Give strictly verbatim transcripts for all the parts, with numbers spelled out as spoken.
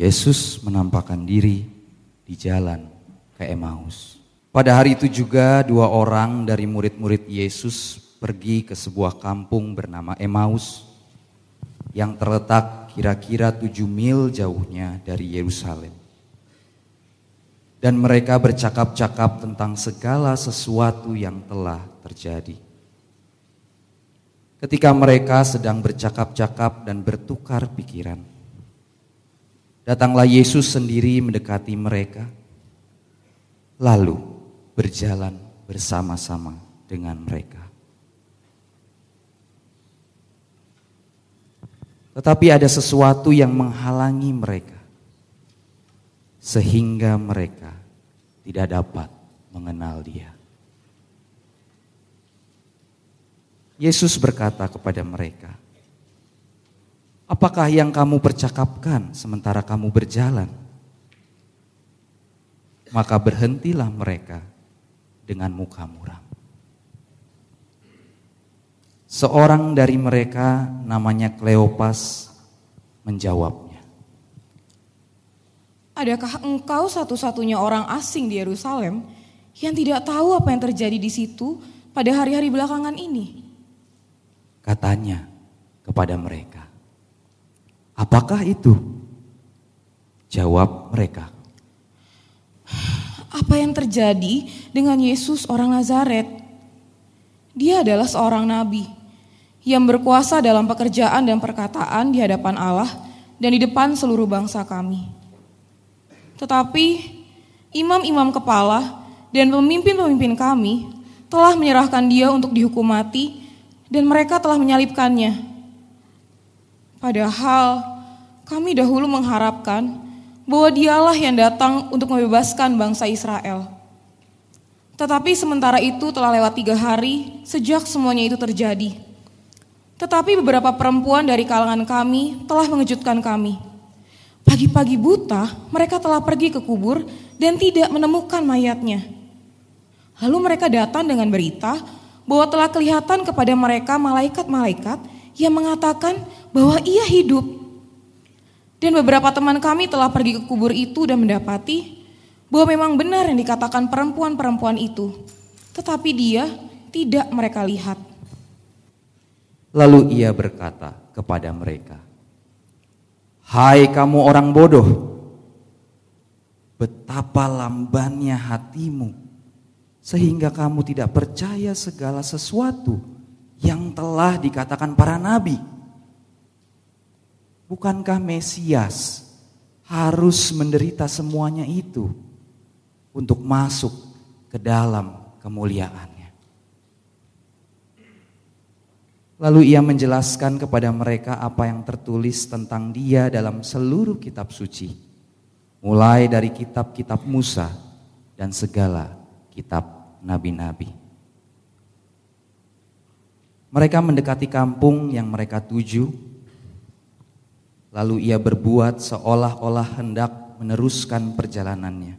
Yesus menampakkan diri di jalan ke Emmaus. Pada hari itu juga dua orang dari murid-murid Yesus pergi ke sebuah kampung bernama Emmaus yang terletak kira-kira tujuh mil jauhnya dari Yerusalem. Dan mereka bercakap-cakap tentang segala sesuatu yang telah terjadi. Ketika mereka sedang bercakap-cakap dan bertukar pikiran, datanglah Yesus sendiri mendekati mereka, lalu berjalan bersama-sama dengan mereka. Tetapi ada sesuatu yang menghalangi mereka, sehingga mereka tidak dapat mengenal Dia. Yesus berkata kepada mereka, "Apakah yang kamu percakapkan sementara kamu berjalan?" Maka berhentilah mereka dengan muka muram. Seorang dari mereka namanya Kleopas menjawabnya, "Adakah engkau satu-satunya orang asing di Yerusalem yang tidak tahu apa yang terjadi di situ pada hari-hari belakangan ini?" Katanya kepada mereka, "Apakah itu?" Jawab mereka, "Apa yang terjadi dengan Yesus orang Nazaret? Dia adalah seorang nabi yang berkuasa dalam pekerjaan dan perkataan di hadapan Allah dan di depan seluruh bangsa kami. Tetapi imam-imam kepala dan pemimpin-pemimpin kami telah menyerahkan Dia untuk dihukum mati dan mereka telah menyalibkannya. Padahal kami dahulu mengharapkan bahwa Dialah yang datang untuk membebaskan bangsa Israel. Tetapi sementara itu telah lewat tiga hari sejak semuanya itu terjadi. Tetapi beberapa perempuan dari kalangan kami telah mengejutkan kami. Pagi-pagi buta mereka telah pergi ke kubur dan tidak menemukan mayatnya. Lalu mereka datang dengan berita bahwa telah kelihatan kepada mereka malaikat-malaikat yang mengatakan bahwa Ia hidup. Dan beberapa teman kami telah pergi ke kubur itu dan mendapati bahwa memang benar yang dikatakan perempuan-perempuan itu. Tetapi Dia tidak mereka lihat." Lalu Ia berkata kepada mereka, "Hai kamu orang bodoh, betapa lambannya hatimu sehingga kamu tidak percaya segala sesuatu yang telah dikatakan para nabi. Bukankah Mesias harus menderita semuanya itu untuk masuk ke dalam kemuliaannya?" Lalu Ia menjelaskan kepada mereka apa yang tertulis tentang Dia dalam seluruh kitab suci, mulai dari kitab-kitab Musa dan segala kitab nabi-nabi. Mereka mendekati kampung yang mereka tuju, lalu Ia berbuat seolah-olah hendak meneruskan perjalanannya.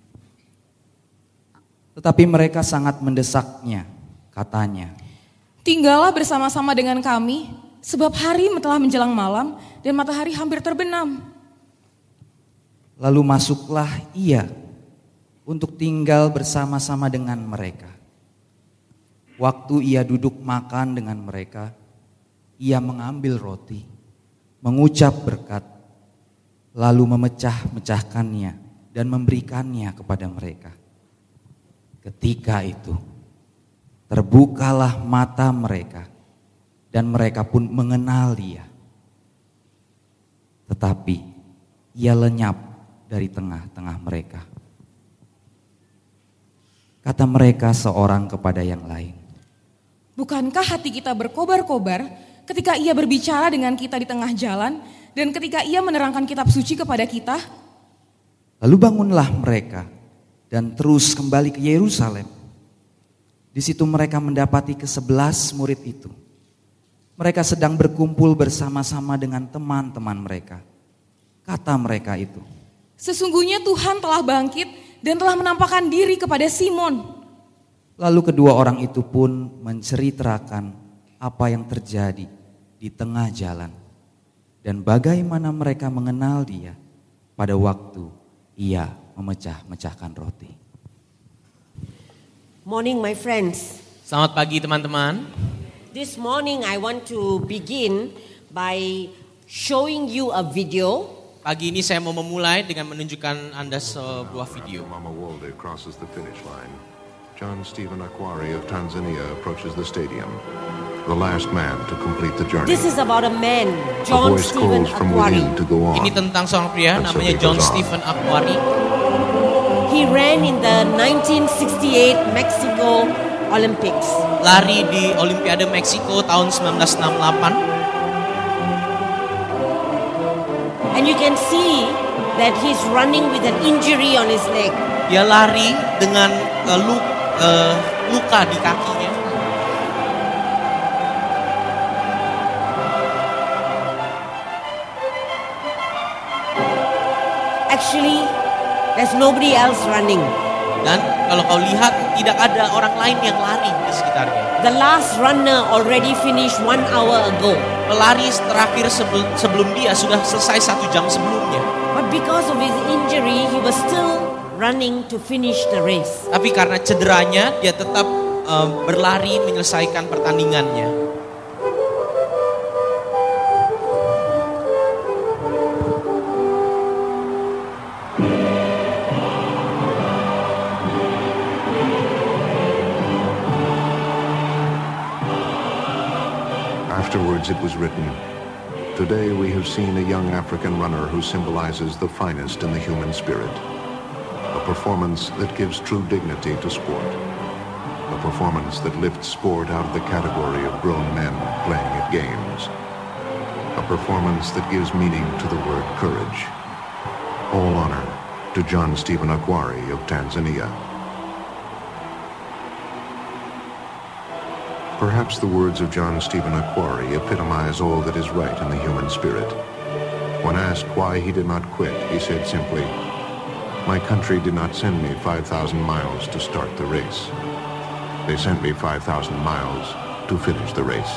Tetapi mereka sangat mendesaknya, katanya, "Tinggallah bersama-sama dengan kami, sebab hari telah menjelang malam dan matahari hampir terbenam." Lalu masuklah Ia untuk tinggal bersama-sama dengan mereka. Waktu Ia duduk makan dengan mereka, Ia mengambil roti, mengucap berkat, lalu memecah-mecahkannya dan memberikannya kepada mereka. Ketika itu, terbukalah mata mereka dan mereka pun mengenal Dia. Tetapi Ia lenyap dari tengah-tengah mereka. Kata mereka seorang kepada yang lain, "Bukankah hati kita berkobar-kobar ketika Ia berbicara dengan kita di tengah jalan dan ketika Ia menerangkan kitab suci kepada kita?" Lalu bangunlah mereka dan terus kembali ke Yerusalem. Di situ mereka mendapati kesebelas murid itu. Mereka sedang berkumpul bersama-sama dengan teman-teman mereka. Kata mereka itu, "Sesungguhnya Tuhan telah bangkit dan telah menampakkan diri kepada Simon." Lalu kedua orang itu pun menceritakan apa yang terjadi di tengah jalan dan bagaimana mereka mengenal Dia pada waktu ia memecah-mecahkan roti. Morning, my friends. Selamat pagi teman-teman. This morning I want to begin by showing you a video. Pagi ini saya mau memulai dengan menunjukkan Anda sebuah video. Mama Walde crosses the finish line. John Stephen Akwari of Tanzania approaches the stadium, the last man to complete the journey. This is about a man, A John voice Stephen calls from Akwari. within to go on. Ini tentang seorang pria And so namanya he John goes on. Stephen Akwari. He ran in the nineteen sixty-eight Mexico Olympics. Lari di Olimpiade Meksiko tahun sembilan belas enam puluh delapan. And you can see that he's running with an injury on his leg. Dia lari dengan uh, lu, uh, luka di kakinya. Actually, there's nobody else running. Dan kalau kau lihat tidak ada orang lain yang lari di sekitarnya. The last runner already finished one hour ago. Pelari terakhir sebelum, sebelum dia sudah selesai satu jam sebelumnya. But because of his injury, he was still running to finish the race. Tapi karena cederanya dia tetap uh, berlari menyelesaikan pertandingannya. Afterwards it was written, "Today we have seen a young African runner who symbolizes the finest in the human spirit. A performance that gives true dignity to sport. A performance that lifts sport out of the category of grown men playing at games. A performance that gives meaning to the word courage. All honor to John Stephen Akwari of Tanzania." Perhaps the words of John Stephen Akwari epitomize all that is right in the human spirit. When asked why he did not quit, he said simply, "My country did not send me five thousand miles to start the race. They sent me five thousand miles to finish the race."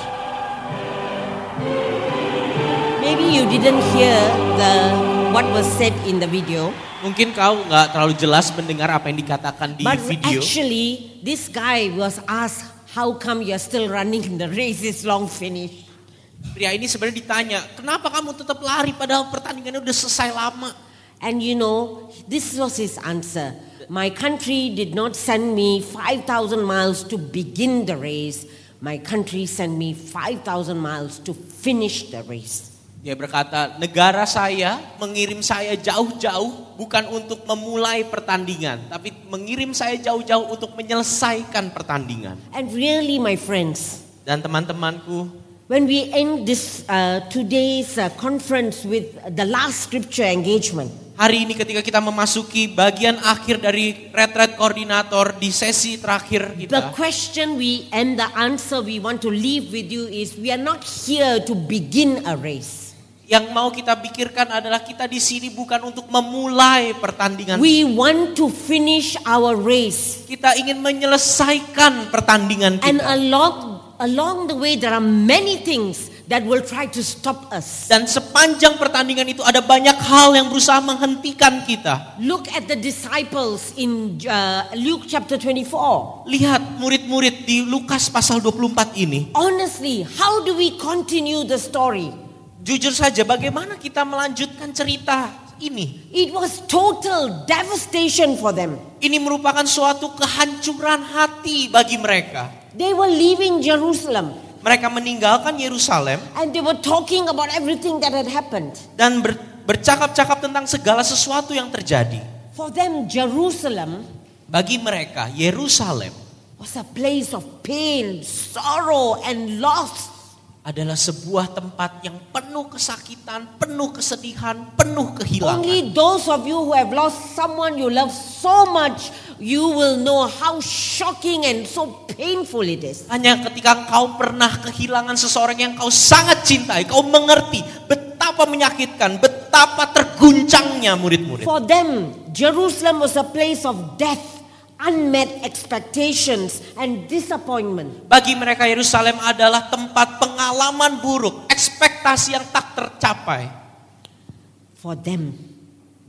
Maybe you didn't hear the what was said in the video. Mungkin kau nggak terlalu jelas mendengar apa yang dikatakan di But video. actually, this guy was asked, "How come you're still running? The race is long finished." Pria ini sebenarnya ditanya, kenapa kamu tetap lari padahal pertandingannya udah selesai lama? And you know, this was his answer. "My country did not send me five thousand miles to begin the race. My country sent me five thousand miles to finish the race." Dia berkata, negara saya mengirim saya jauh-jauh bukan untuk memulai pertandingan, tapi mengirim saya jauh-jauh untuk menyelesaikan pertandingan. And really, my friends, Dan teman-temanku, when we end this uh, today's uh, conference with the last scripture engagement, hari ini ketika kita memasuki bagian akhir dari retret koordinator di sesi terakhir the kita, question we and the answer we want to leave with you is, we are not here to begin a race. yang mau kita pikirkan adalah kita di sini bukan untuk memulai pertandingan. We want to finish our race. Kita ingin menyelesaikan pertandingan And kita. along, along the way there are many things that will try to stop us. Dan sepanjang pertandingan itu ada banyak hal yang berusaha menghentikan kita. Look at the disciples in uh, Luke chapter twenty-four. Lihat murid-murid di Lukas pasal dua puluh empat ini. Honestly, how do we continue the story? Jujur saja, bagaimana kita melanjutkan cerita ini? It was total devastation for them. Ini merupakan suatu kehancuran hati bagi mereka. They were leaving Jerusalem Mereka meninggalkan Yerusalem and they were talking about everything that had happened. dan ber, bercakap-cakap tentang segala sesuatu yang terjadi. For them, Jerusalem Bagi mereka, Yerusalem was a place of pain, sorrow, and loss. adalah sebuah tempat yang penuh kesakitan, penuh kesedihan, penuh kehilangan. Only those of you who have lost someone you love so much, you will know how shocking and so painful it is. Hanya ketika kau pernah kehilangan seseorang yang kau sangat cintai, kau mengerti betapa menyakitkan, betapa terguncangnya murid-murid. For them, Jerusalem was a place of death, unmet expectations, and disappointment. Bagi mereka Yerusalem adalah tempat pengalaman buruk, ekspektasi yang tak tercapai. For them,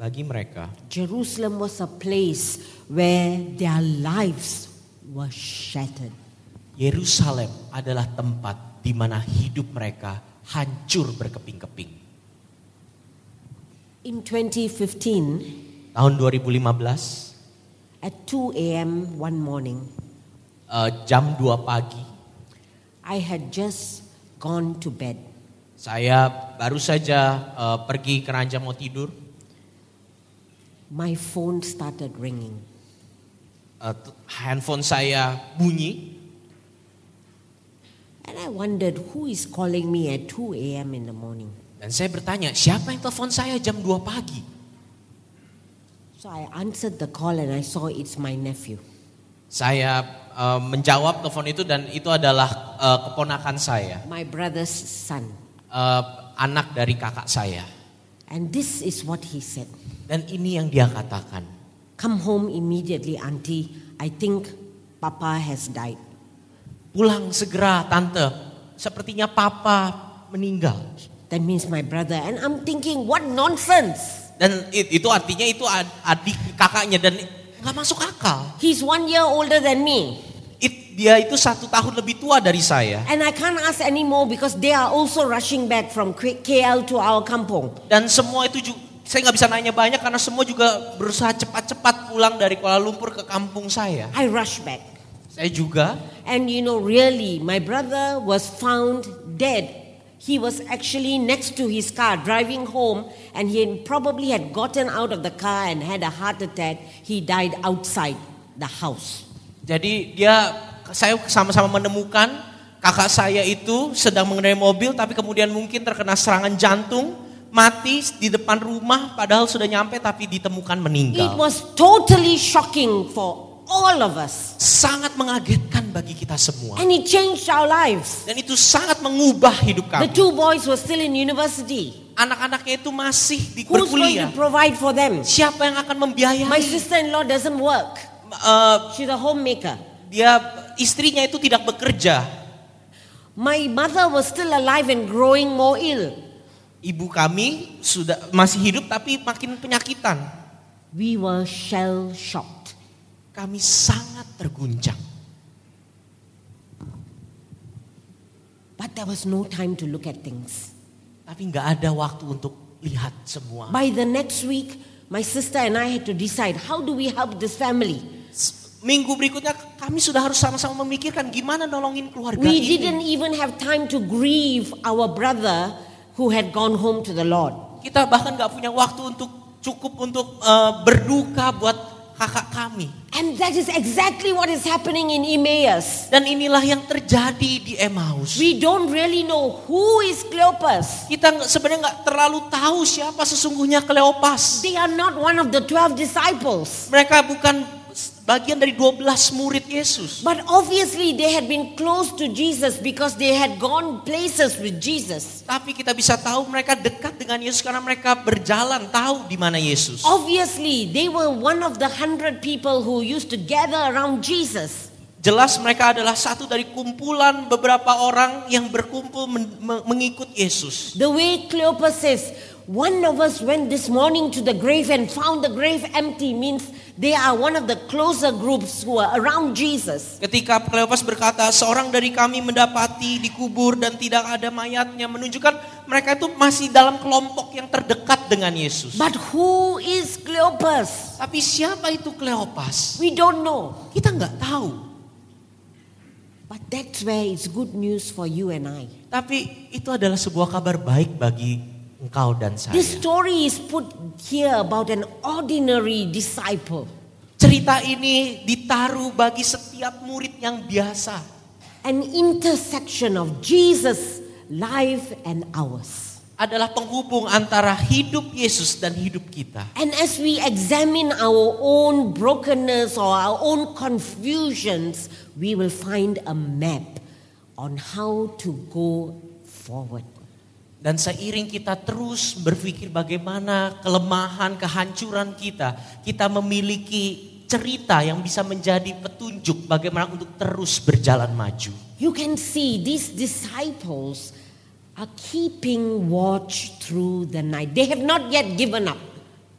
Bagi mereka, Jerusalem was a place where their lives were shattered. Yerusalem adalah tempat di mana hidup mereka hancur berkeping-keping. In twenty fifteen, Tahun dua ribu lima belas, at two a.m. one morning, uh, jam dua pagi, I had just gone to bed. saya baru saja uh, pergi ke ranjang mau tidur. My phone started ringing. Uh, t- handphone saya bunyi. And I wondered who is calling me at two a.m. in the morning. Dan saya bertanya, siapa yang telepon saya jam dua pagi? So I answered the call and I saw it's my nephew. Saya uh, menjawab telepon itu dan itu adalah uh, keponakan saya. My brother's son. Uh, anak dari kakak saya. And this is what he said. Dan ini yang dia katakan. Come home immediately, auntie. I think Papa has died. Pulang segera tante, sepertinya papa meninggal. That means my brother. And I'm thinking, what nonsense. Dan itu artinya itu adik kakaknya dan gak masuk akal. He's one year older than me. It, dia itu satu tahun lebih tua dari saya. And I can't ask anymore because they are also rushing back from K L to our kampung. Dan semua itu juga, saya gak bisa nanya banyak karena semua juga berusaha cepat-cepat pulang dari Kuala Lumpur ke kampung saya. I rush back. Saya juga. And you know, really, my brother was found dead. He was actually next to his car driving home and he probably had gotten out of the car and had a heart attack. He died outside the house. Jadi dia, saya sama-sama menemukan kakak saya itu sedang mengendarai mobil tapi kemudian mungkin terkena serangan jantung, mati di depan rumah padahal sudah nyampe tapi ditemukan It meninggal. was totally shocking for all of us. Sangat mengagetkan bagi kita semua. And it changed our lives. Dan itu sangat mengubah hidup The kami. two boys were still in university. Anak-anaknya itu masih di Who's going berkuliah. to provide for them? Siapa yang akan membiayai? My sister-in-law doesn't work. Uh, She's a homemaker. dia istrinya itu tidak bekerja. My mother was still alive and growing more ill. Ibu kami sudah masih hidup tapi makin penyakitan. We were shell-shocked. Kami sangat terguncang. But there was no time to look at things. Tapi nggak ada waktu untuk lihat semua. By the next week, my sister and I had to decide, how do we help this family? Minggu berikutnya kami sudah harus sama-sama memikirkan gimana nolongin keluarga We ini. didn't even have time to grieve our brother who had gone home to the Lord. Kita bahkan nggak punya waktu untuk cukup untuk uh, berduka buat kakak kami. And that is exactly what is happening in Emmaus. Dan inilah yang terjadi di Emmaus. We don't really know who is Cleopas. Kita nggak- sebenarnya nggak terlalu tahu siapa sesungguhnya Kleopas. They are not one of the twelve disciples. Mereka bukan bagian dari dua belas murid Yesus. But obviously they had been close to Jesus because they had gone places with Jesus. Tapi kita bisa tahu mereka dekat dengan Yesus karena mereka berjalan tahu di mana Yesus. Obviously they were one of the hundred people who used to gather around Jesus. Jelas mereka adalah satu dari kumpulan beberapa orang yang berkumpul men- me- mengikut Yesus. The way Cleopas says, one of us went this morning to the grave and found the grave empty means they are one of the closer groups who are around Jesus. Ketika Kleopas berkata, seorang dari kami mendapati dikubur dan tidak ada mayatnya, menunjukkan mereka itu masih dalam kelompok yang terdekat dengan Yesus. But who is Cleopas? Tapi siapa itu Kleopas? We don't know. Kita nggak tahu. But that's where it's good news for you and I. Tapi itu adalah sebuah kabar baik bagi engkau dan saya. This story is put here about an ordinary disciple. Cerita ini ditaruh bagi setiap murid yang biasa. An intersection of Jesus' life and ours. Adalah penghubung antara hidup Yesus dan hidup kita. And as we examine our own brokenness or our own confusions, we will find a map on how to go forward. Dan seiring kita terus berpikir bagaimana kelemahan, kehancuran kita, kita memiliki cerita yang bisa menjadi petunjuk bagaimana untuk terus berjalan maju. You can see these disciples are keeping watch through the night. They have not yet given up.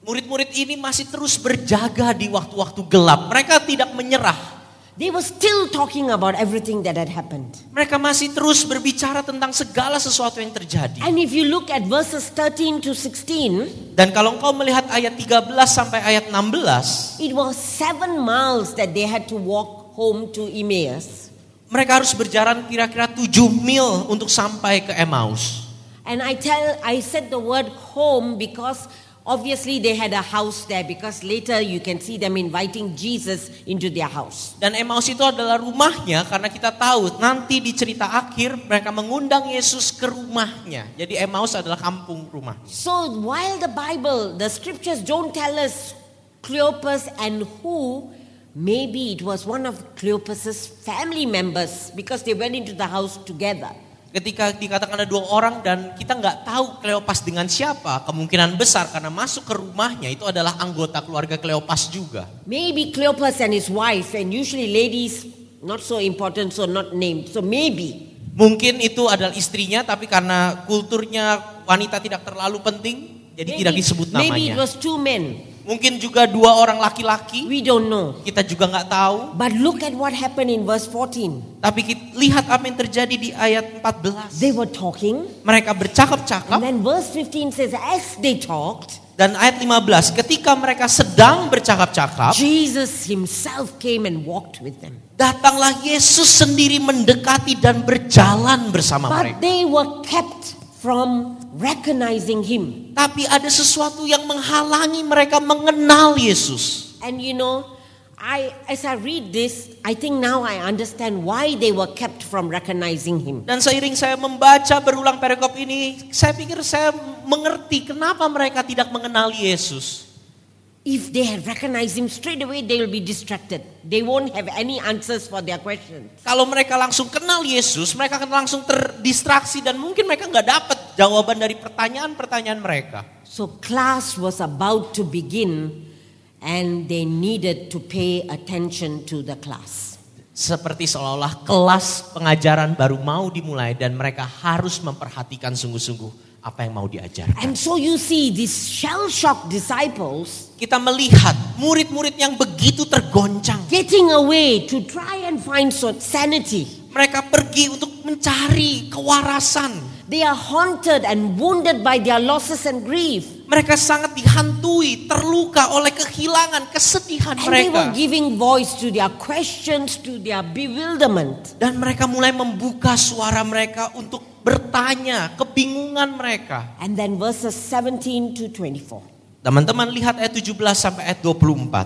Murid-murid ini masih terus berjaga di waktu-waktu gelap. Mereka tidak menyerah. They were still talking about everything that had happened. Mereka masih terus berbicara tentang segala sesuatu yang terjadi. And if you look at verses thirteen to sixteen, Dan kalau engkau melihat ayat tiga belas sampai ayat enam belas, it was seven miles that they had to walk home to Emmaus. mereka harus berjalan kira-kira tujuh mil untuk sampai ke Emmaus. And I tell, I said the word home because obviously they had a house there, because later you can see them inviting Jesus into their house. Dan Emmaus itu adalah rumahnya karena kita tahu nanti di cerita akhir mereka mengundang Yesus ke rumahnya. Jadi Emmaus adalah kampung rumah. So while the Bible, the scriptures don't tell us Cleopas and who, maybe it was one of Cleopas's family members because they went into the house together. Ketika dikatakan ada dua orang dan kita nggak tahu Kleopas dengan siapa, kemungkinan besar karena masuk ke rumahnya itu adalah anggota keluarga Kleopas juga. Maybe Cleopas and his wife, and usually ladies not so important, so not named. So maybe. Mungkin itu adalah istrinya, tapi karena kulturnya wanita tidak terlalu penting, jadi Maybe, tidak disebut namanya. maybe it was two men. Mungkin juga dua orang laki-laki, We don't know. kita juga nggak tahu. But look at what happened in verse fourteen. Tapi kita lihat apa yang terjadi di ayat empat belas. They were talking, Mereka bercakap-cakap. and then verse fifteen says, as they talked, Dan ayat lima belas, ketika mereka sedang bercakap-cakap, Jesus himself came and walked with them. datanglah Yesus sendiri mendekati dan berjalan bersama But mereka. they were kept from recognizing him. Tapi ada sesuatu yang menghalangi mereka mengenal Yesus. And you know, I as I read this, I think now I understand why they were kept from recognizing him. Dan seiring saya membaca berulang perikop ini, saya pikir saya mengerti kenapa mereka tidak mengenal Yesus. If they had recognized him straight away, they will be distracted. They won't have any answers for their questions. Kalau mereka langsung kenal Yesus, mereka akan langsung terdistraksi dan mungkin mereka nggak dapat jawaban dari pertanyaan-pertanyaan mereka. So class was about to begin, and they needed to pay attention to the class. Seperti seolah-olah kelas pengajaran baru mau dimulai dan mereka harus memperhatikan sungguh-sungguh apa yang mau diajarkan. And so you see these shell-shocked disciples Kita melihat murid-murid yang begitu tergoncang. getting away to try and find sanity. Mereka pergi untuk mencari kewarasan. They are haunted and wounded by their losses and grief. Mereka sangat dihantui, terluka oleh kehilangan, kesedihan And they were mereka. giving voice to their questions, to their bewilderment. Dan mereka mulai membuka suara mereka untuk bertanya, kebingungan mereka. And then verses seventeen to twenty-four. Teman-teman lihat ayat tujuh belas sampai ayat dua puluh empat.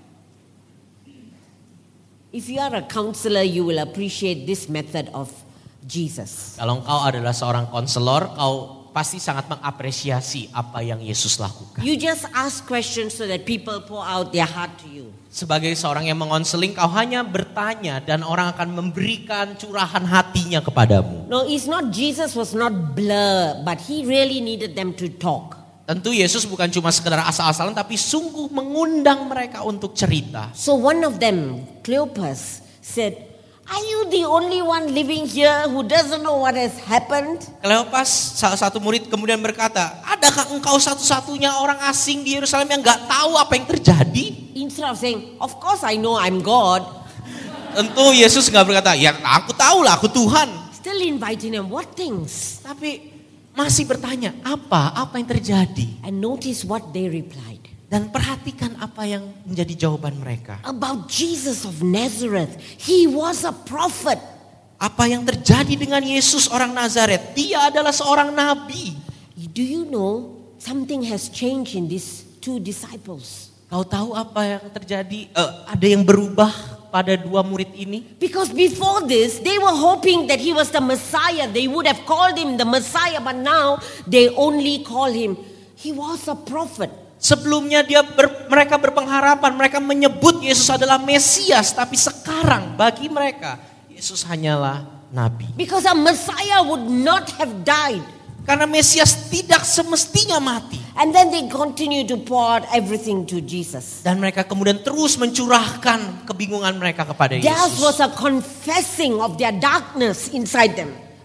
If you are a counselor, you will appreciate this method of Jesus. Kalau engkau adalah seorang konselor, kau pasti sangat mengapresiasi apa yang Yesus lakukan. You just ask questions so that people pour out their heart to you. Sebagai seorang yang mengonseling, kau hanya bertanya dan orang akan memberikan curahan hatinya kepadamu. No, it's not, Jesus was not blur, but he really needed them to talk. Tentu Yesus bukan cuma sekedar asal-asalan, tapi sungguh mengundang mereka untuk cerita. So one of them, Cleopas, said, are you the only one living here who doesn't know what has happened? Kleopas, salah satu murid kemudian berkata, adakah engkau satu-satunya orang asing di Yerusalem yang gak tahu apa yang terjadi? Instead of saying, of course I know I'm God, Tentu Yesus gak berkata, ya aku tahu lah, aku Tuhan. still inviting them, what things? Tapi masih bertanya, apa, apa yang terjadi? And notice what they replied. Dan perhatikan apa yang menjadi jawaban mereka. About Jesus of Nazareth, he was a prophet. Apa yang terjadi dengan Yesus orang Nazaret? Dia adalah seorang nabi. Do you know something has changed in these two disciples? Kau tahu apa yang terjadi? Eh, ada yang berubah pada dua murid ini? Because before this, they were hoping that he was the Messiah. They would have called him the Messiah, but now they only call him, he was a prophet. Sebelumnya dia ber, mereka berpengharapan, mereka menyebut Yesus adalah Mesias, tapi sekarang bagi mereka Yesus hanyalah nabi. Because a Messiah would not have died. Karena Mesias tidak semestinya mati. And then they continue to pour out everything to Jesus. Dan mereka kemudian terus mencurahkan kebingungan mereka kepada Theirs Yesus. was a confessing of their darkness inside them.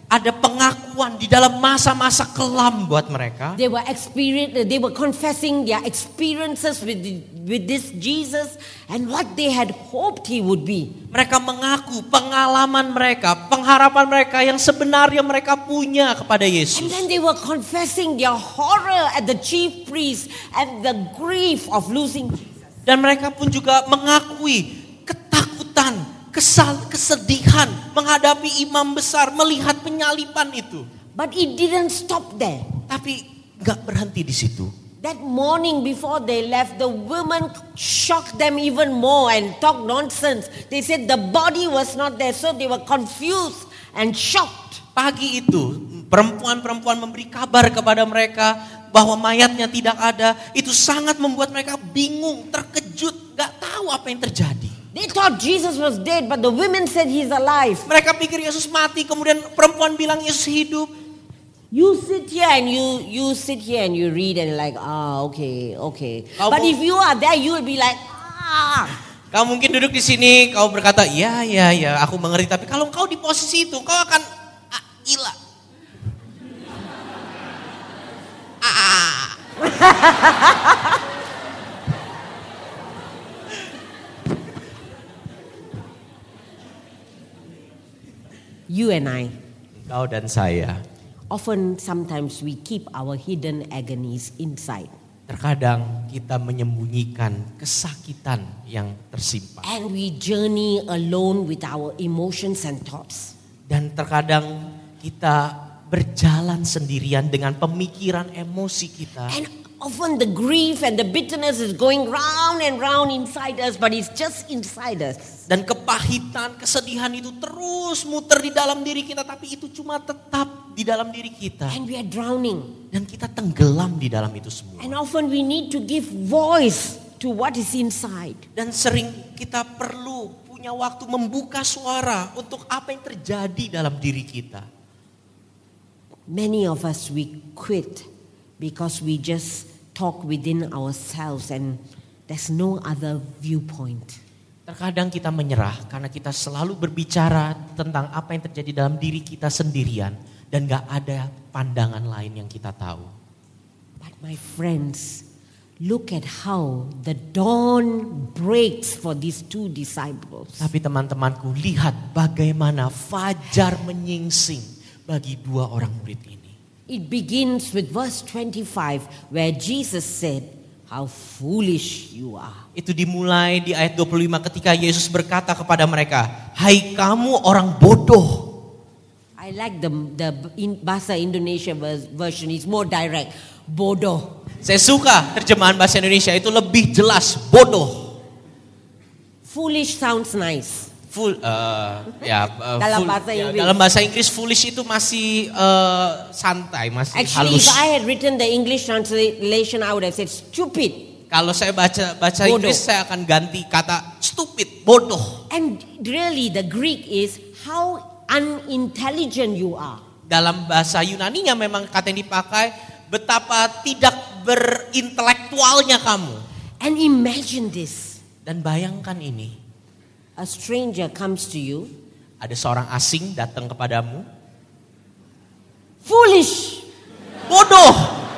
Ada pengakuan di dalam masa-masa kelam buat mereka. They were experience, they were confessing their experiences with the, with this Jesus and what they had hoped he would be. Mereka mengaku pengalaman mereka, pengharapan mereka yang sebenarnya mereka punya kepada And Yesus. then they were confessing their horror at the chief priest and the grief of losing Jesus. Dan mereka pun juga mengakui ketakutan, kesal, kesedihan menghadapi imam besar, melihat penyaliban itu. But it didn't stop there. Tapi gak berhenti di situ. That morning before they left, the women shocked them even more and talked nonsense. They said the body was not there, so they were confused and shocked. Pagi itu perempuan-perempuan memberi kabar kepada mereka bahwa mayatnya tidak ada. Itu sangat membuat mereka bingung, terkejut, gak tahu apa yang terjadi. They thought Jesus was dead, but the women said he's alive. Mereka pikir Yesus mati, kemudian perempuan bilang Yesus hidup. You sit here and you you sit here and you read and like, ah, okay, okay. Kau But mau- if you are there, you will be like, ah. Kau mungkin duduk di sini, kau berkata, iya, iya, iya, aku mengerti. Tapi kalau kau di posisi itu, kau akan ah, gila. Ah. You and I, Kau dan saya, often sometimes we keep our hidden agonies inside. terkadang kita menyembunyikan kesakitan yang tersimpan. And we journey alone with our emotions and thoughts. Dan terkadang kita berjalan sendirian dengan pemikiran emosi kita. And often the grief and the bitterness is going round and round inside us, but it's just inside us. Dan kepahitan, kesedihan itu terus muter di dalam diri kita. Tapi itu cuma tetap di dalam diri kita. And we are drowning. Dan kita tenggelam di dalam itu semua. And often we need to give voice to what is inside. Dan sering kita perlu punya waktu membuka suara untuk apa yang terjadi dalam diri kita. Many of us, we quit because we just talk within ourselves and there's no other viewpoint. Terkadang kita menyerah karena kita selalu berbicara tentang apa yang terjadi dalam diri kita sendirian. Dan gak ada pandangan lain yang kita tahu. But my friends, look at how the dawn breaks for these two disciples. Tapi teman-temanku, lihat bagaimana fajar menyingsing bagi dua orang murid ini. It begins with verse twenty-five where Jesus said, how foolish you are. Itu dimulai di ayat dua puluh lima ketika Yesus berkata kepada mereka, hai kamu orang bodoh. I like the, the in, Bahasa Indonesia vers- version, it's more direct. Bodoh. Saya suka terjemahan bahasa Indonesia itu lebih jelas, bodoh. Foolish sounds nice. Full, uh, ya, uh, Dalam full- bahasa ya, Inggris. dalam bahasa Inggris foolish itu masih uh, santai, masih Actually, halus. if I had written the English translation, I would have said stupid. Kalau saya baca baca Bodoh. Inggris, saya akan ganti kata stupid, bodoh. And really, the Greek is how unintelligent you are. Dalam bahasa Yunaninya memang kata yang dipakai, betapa tidak berintelektualnya kamu. And imagine this. Dan bayangkan ini, A stranger comes to you. ada seorang asing datang kepadamu, Foolish. bodoh.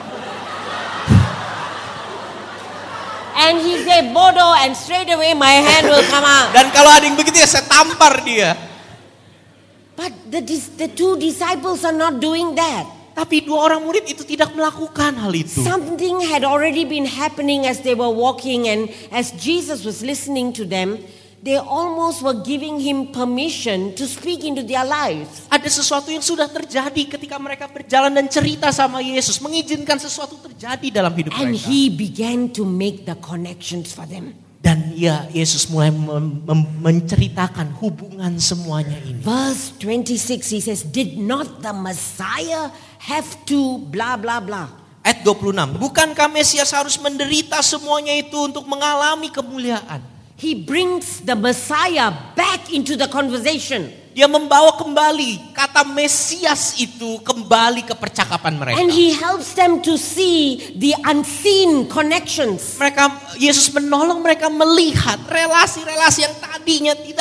And he said, bodoh, and straight away my hand will come out. Dan kalau ada yang begitu ya saya tampar dia. But the, dis- the two disciples are not doing that. Tapi dua orang murid itu tidak melakukan hal itu. Something had already been happening as they were walking, and as Jesus was listening to them, they almost were giving him permission to speak into their lives. Ada sesuatu yang sudah terjadi ketika mereka berjalan dan cerita sama Yesus, mengizinkan sesuatu terjadi dalam hidup And mereka. he began to make the connections for them. Dan ya Yesus mulai mem- mem- menceritakan hubungan semuanya ini. Verse twenty-six, he says, did not the Messiah have to blah blah blah. Ayat dua puluh enam, bukankah Mesias harus menderita semuanya itu untuk mengalami kemuliaan? He brings the Messiah back into the conversation. Dia membawa kembali kata Mesias itu kembali ke percakapan mereka. And he helps them to see the unseen connections. Mereka Yesus menolong mereka melihat relasi-relasi yang tadinya tidak terlihat.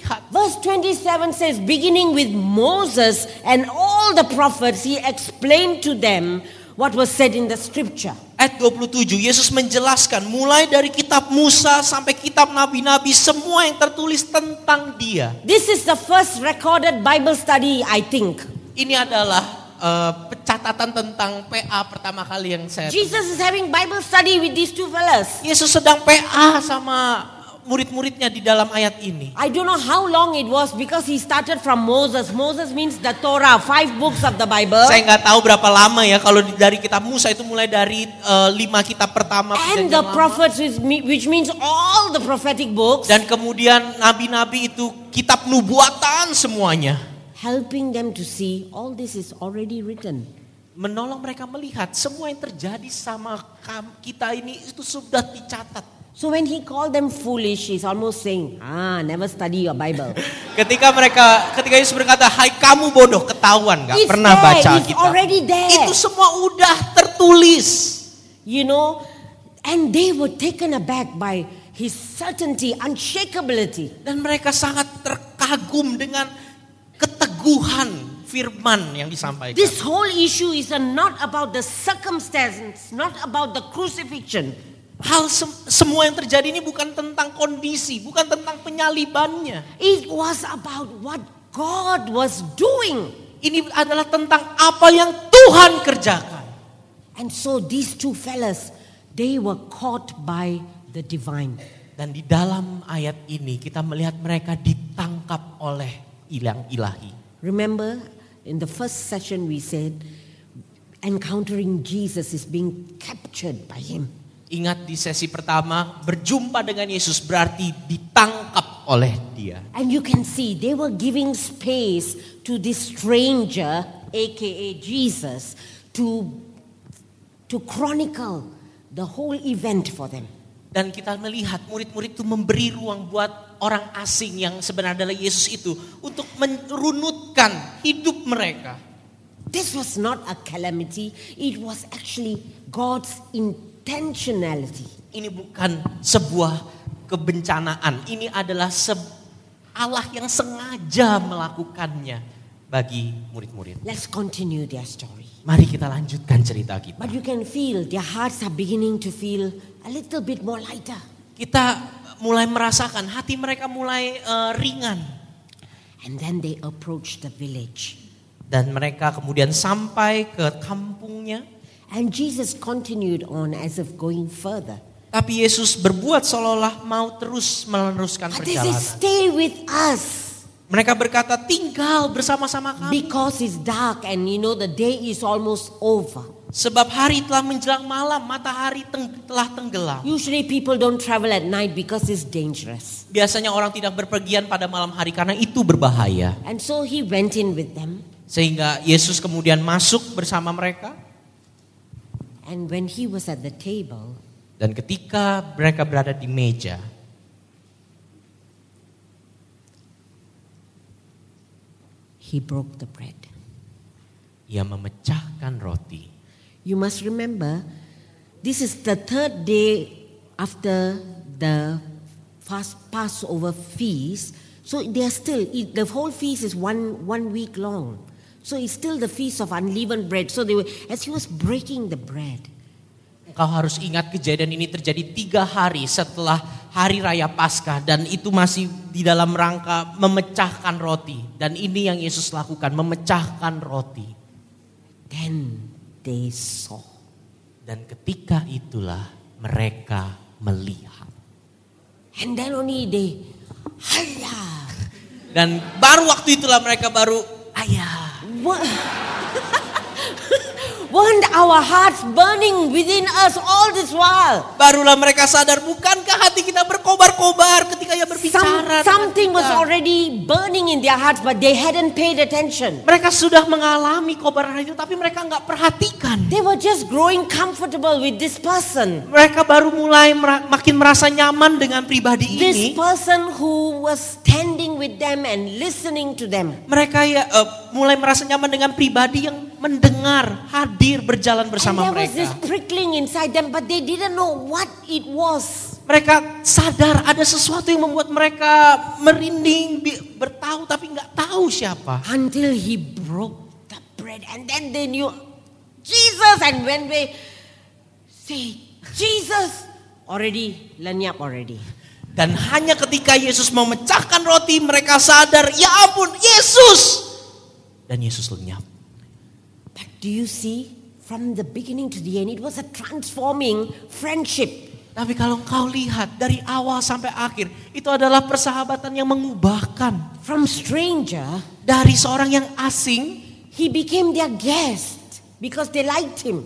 melihat. Verse twenty-seven says, beginning with Moses and all the prophets, he explained to them what was said in the scripture. Ayat dua puluh tujuh, Yesus menjelaskan mulai dari kitab Musa sampai kitab nabi-nabi, semua yang tertulis tentang dia. This is the first recorded Bible study, I think. Ini adalah uh, catatan tentang P A pertama kali yang saya. Jesus is having Bible study with these two fellas. Yesus sedang P A sama murid-muridnya di dalam ayat ini. I don't know how long it was because he started from Moses. Moses means the Torah, five books of the Bible. Saya nggak tahu berapa lama ya kalau dari kitab Musa itu mulai dari uh, lima kitab pertama. And the prophets, which means all the prophetic books. Dan kemudian nabi-nabi itu kitab nubuatan semuanya. Helping them to see all this is already written. Menolong mereka melihat semua yang terjadi sama kita ini itu sudah dicatat. So when he called them foolish, he's almost saying, ah, never study your Bible. Ketika mereka, ketika Yesus berkata, hai kamu bodoh, ketahuan gak It's pernah there, baca it's Alkitab. already there. Itu semua udah tertulis. You know, and they were taken aback by his certainty, unshakability. Dan mereka sangat terkagum dengan keteguhan firman yang disampaikan. This whole issue is not about the circumstances, not about the crucifixion. Hal sem- semua yang terjadi ini bukan tentang kondisi, bukan tentang penyalibannya. It was about what God was doing. Ini adalah tentang apa yang Tuhan kerjakan. And so these two fellas, they were caught by the divine. Dan di dalam ayat ini kita melihat mereka ditangkap oleh ilang ilahi. Remember in the first session we said encountering Jesus is being captured by him. Ingat di sesi pertama, berjumpa dengan Yesus berarti ditangkap oleh dia. And you can see they were giving space to this stranger, aka Jesus, to to chronicle the whole event for them. Dan kita melihat murid-murid itu memberi ruang buat orang asing yang sebenarnya adalah Yesus itu untuk merunutkan hidup mereka. This was not a calamity, it was actually God's intentionality. Ini bukan sebuah kebencanaan, ini adalah se- Allah yang sengaja melakukannya bagi murid-murid. Let's continue their story. Mari kita lanjutkan cerita kita. But you can feel their hearts are beginning to feel a little bit more lighter. Kita mulai merasakan hati mereka mulai uh, ringan. And then they approach the village. Dan mereka kemudian sampai ke kampungnya. And Jesus continued on as if going further. Tapi Yesus berbuat seolah-olah mau terus meneruskan But they say, perjalanan. stay with us. Mereka berkata, tinggal bersama-sama kami. Because it's dark and you know the day is almost over. Sebab hari telah menjelang malam, matahari teng- telah tenggelam. Usually people don't travel at night because it's dangerous. Biasanya orang tidak berpergian pada malam hari karena itu berbahaya. And so he went in with them. Sehingga Yesus kemudian masuk bersama mereka. And when he was at the table, Dan ketika mereka berada di meja, he broke the bread. ia memecahkan roti. You must remember, this is the third day after the fast Passover feast. So they are still, it, the whole feast is one, one week long. So it's still the feast of unleavened bread. So they were, as he was breaking the bread, Engkau harus ingat kejadian ini terjadi tiga hari setelah hari raya Paskah. Dan itu masih di dalam rangka memecahkan roti. Dan ini yang Yesus lakukan, memecahkan roti. then they saw. Dan ketika itulah mereka melihat. And then only they, Hayah. Dan baru waktu itulah mereka baru, ayah. What? Weren't our hearts burning within us all this while? Barulah mereka sadar, bukankah hati kita berkobar-kobar ketika ia berbicara. Some, something was already burning in their hearts, but they hadn't paid attention. Mereka sudah mengalami kobaran itu, tapi mereka nggak perhatikan. They were just growing comfortable with this person. Mereka baru mulai mera- makin merasa nyaman dengan pribadi This ini. person who was standing with them and listening to them. Mereka ya uh, mulai merasa nyaman dengan pribadi yang mendengar, hadir, berjalan And bersama there was mereka. this prickling inside them, but they didn't know what it was. Mereka sadar ada sesuatu yang membuat mereka merinding, bertahu tapi nggak tahu siapa. Until he broke the bread and then they knew Jesus, and when they say Jesus, already lenyap already. Dan hanya ketika Yesus memecahkan roti mereka sadar, ya ampun Yesus. Dan Yesus lenyap. But do you see, from the beginning to the end, it was a transforming friendship. Tapi kalau engkau lihat dari awal sampai akhir, itu adalah persahabatan yang mengubahkan. From stranger, dari seorang yang asing, he became their guest because they liked him.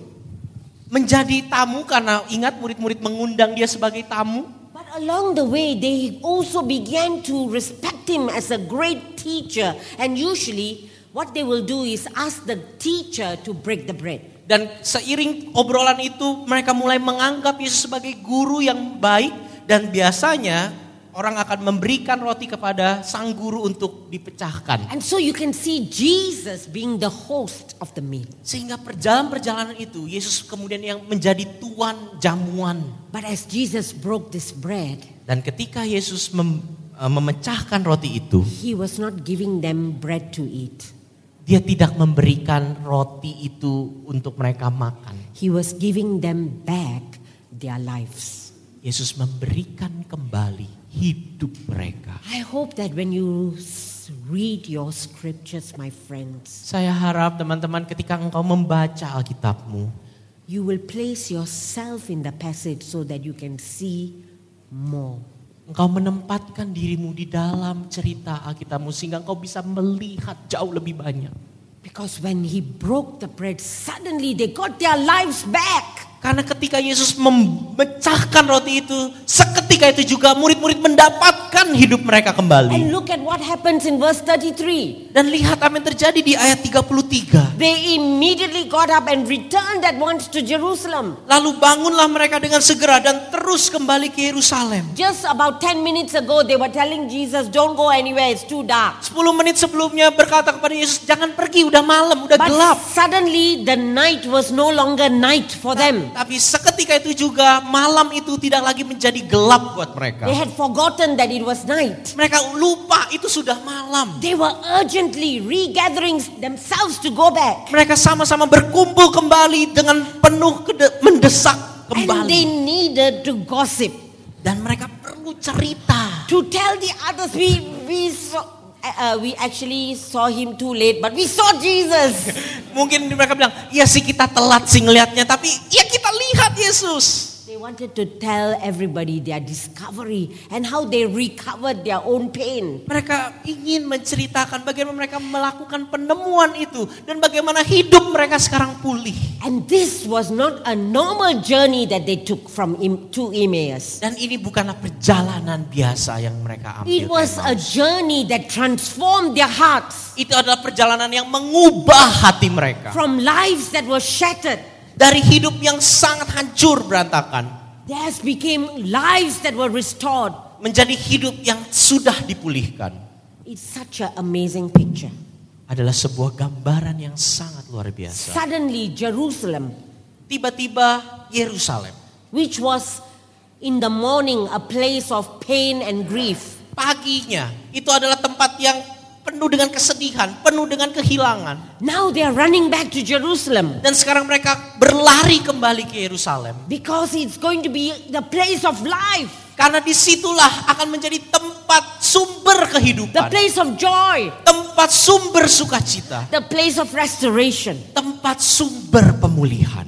Menjadi tamu karena ingat murid-murid mengundang dia sebagai tamu. But along the way, they also began to respect him as a great teacher. And usually, what they will do is ask the teacher to break the bread. Dan seiring obrolan itu mereka mulai menganggap Yesus sebagai guru yang baik. Dan biasanya orang akan memberikan roti kepada sang guru untuk dipecahkan. And so you can see Jesus being the host of the meal. Sehingga perjalanan-perjalanan itu Yesus kemudian yang menjadi tuan jamuan. But as Jesus broke this bread, dan ketika Yesus mem, uh, memecahkan roti itu, he was not giving them bread to eat. Dia tidak memberikan roti itu untuk mereka makan. He was giving them back their lives. Yesus memberikan kembali hidup mereka. I hope that when you read your scriptures, my friends, saya harap teman-teman ketika engkau membaca Alkitabmu, you will place yourself in the passage so that you can see more. Engkau menempatkan dirimu di dalam cerita Alkitabmu sehingga engkau bisa melihat jauh lebih banyak. Because when he broke the bread, suddenly they got their lives back. Karena ketika Yesus memecahkan roti itu, seketika itu juga murid-murid mendapatkan hidup mereka kembali. And look at what happens in verse thirty-three. Dan lihat apa yang terjadi di ayat tiga puluh tiga. They immediately got up and returned at once to Jerusalem. Lalu bangunlah mereka dengan segera dan terus kembali ke Yerusalem. Just about ten minutes ago they were telling Jesus, don't go anywhere, it's too dark. sepuluh menit sebelumnya berkata kepada Yesus, jangan pergi, udah malam, udah But gelap. Suddenly the night was no longer night for them. Tapi seketika itu juga malam itu tidak lagi menjadi gelap buat mereka. They had forgotten that it was night. Mereka lupa itu sudah malam. They were urgently regathering themselves to go back. Mereka sama-sama berkumpul kembali dengan penuh kede- mendesak And kembali. they needed to gossip. Dan mereka perlu cerita. To tell the others, we we saw, uh, we actually saw him too late, but we saw Jesus. Mungkin mereka bilang, iya sih kita telat sih ngelihatnya, tapi ya kita lihat Yesus. They wanted to tell everybody their discovery and how they recovered their own pain. Mereka ingin menceritakan bagaimana mereka melakukan penemuan itu dan bagaimana hidup mereka sekarang pulih. And this was not a normal journey that they took from Em- to Emmaus. Dan ini bukanlah perjalanan biasa yang mereka ambil. It was a journey that transformed their hearts Itu adalah perjalanan yang mengubah hati mereka. from lives that were shattered. Dari hidup yang sangat hancur berantakan, Theirs became lives that were restored. menjadi hidup yang sudah dipulihkan. It's such an amazing picture. Adalah sebuah gambaran yang sangat luar biasa. Suddenly Jerusalem, Tiba-tiba Yerusalem, which was in the morning a place of pain and grief, paginya itu adalah tempat yang penuh dengan kesedihan, penuh dengan kehilangan. now they are running back to Jerusalem Dan sekarang mereka berlari kembali ke Yerusalem. because it's going to be the place of life, Karena disitulah akan menjadi tempat sumber the kehidupan. place of joy, Tempat sumber sukacita. the place of restoration. Tempat sumber pemulihan.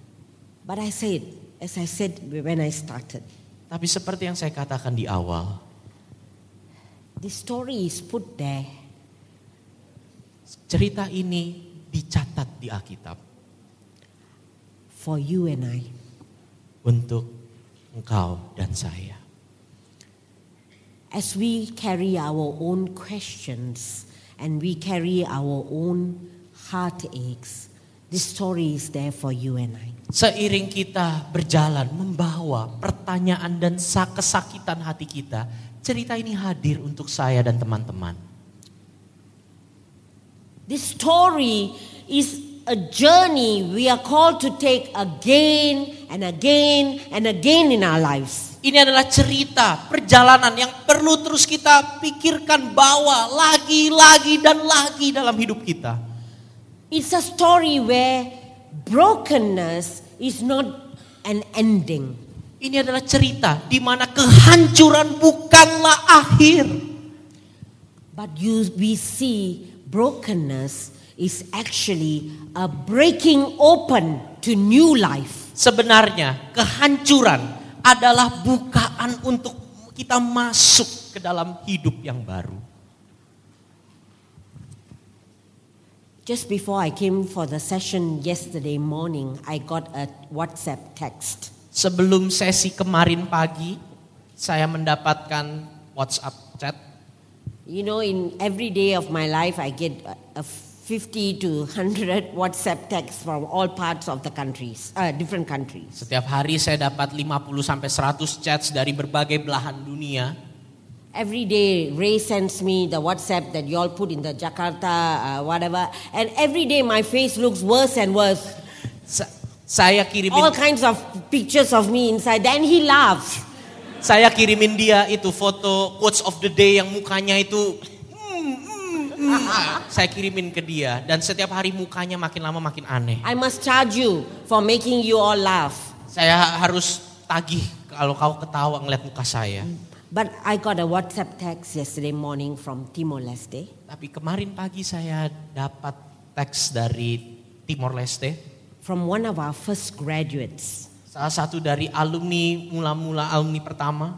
But I said, as I said when I started, Tapi seperti yang saya katakan di awal, this story is put there cerita ini dicatat di Alkitab for you and I. untuk engkau dan saya. As we carry our own questions and we carry our own heartaches, this story is there for you and I. Seiring kita berjalan membawa pertanyaan dan kesakitan hati kita, cerita ini hadir untuk saya dan teman-teman. This story is a journey we are called to take again and again and again in our lives. Ini adalah cerita perjalanan yang perlu terus kita pikirkan, bawa lagi, lagi, dan lagi dalam hidup kita. It's a story where brokenness is not an ending. Ini adalah cerita di mana kehancuran bukanlah akhir. But you, we see brokenness is actually a breaking open to new life. Sebenarnya kehancuran adalah bukaan untuk kita masuk ke dalam hidup yang baru. Just before I came for the session yesterday morning, I got a WhatsApp text. Sebelum sesi kemarin pagi, saya mendapatkan WhatsApp chat. You know, in every day of my life, I get a fifty to one hundred WhatsApp texts from all parts of the countries, uh, different countries. Setiap hari saya dapat lima puluh sampai seratus chats dari berbagai belahan dunia. Every day, Ray sends me the WhatsApp that you all put in the Jakarta, uh, whatever. And every day my face looks worse and worse. Sa- saya kirimin All kinds of pictures of me inside. Then he laughs. Saya kirimin dia itu foto quotes of the day yang mukanya itu mm, mm, mm. Saya kirimin ke dia dan setiap hari mukanya makin lama makin aneh. I must charge you for making you all laugh. Saya harus tagih kalau kau ketawa ngeliat muka saya. But I got a WhatsApp text yesterday morning from Timor-Leste. Tapi kemarin pagi saya dapat teks dari Timor Leste. From one of our first graduates. Salah satu dari alumni, mula-mula alumni pertama.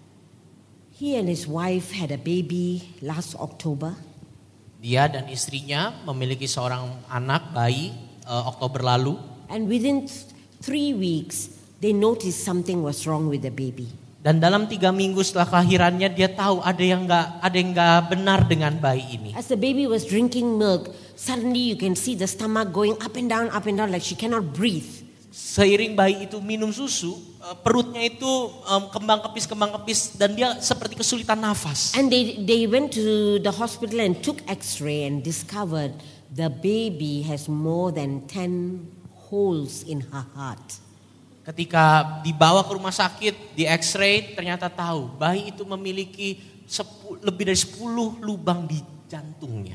He and his wife had a baby last October. Dia dan istrinya memiliki seorang anak bayi uh, Oktober lalu. And within th- three weeks, they noticed something was wrong with the baby. Dan dalam tiga minggu setelah kelahirannya dia tahu ada yang nggak ada yang nggak benar dengan bayi ini. As the baby was drinking milk, suddenly you can see the stomach going up and down, up and down like she cannot breathe. Seiring bayi itu minum susu, perutnya itu um, kembang kepis kembang kepis dan dia seperti kesulitan nafas. And they they went to the hospital and took X-ray and discovered the baby has more than ten holes in her heart. Ketika dibawa ke rumah sakit, di X-ray ternyata tahu bayi itu memiliki sepu, lebih dari sepuluh lubang di jantungnya.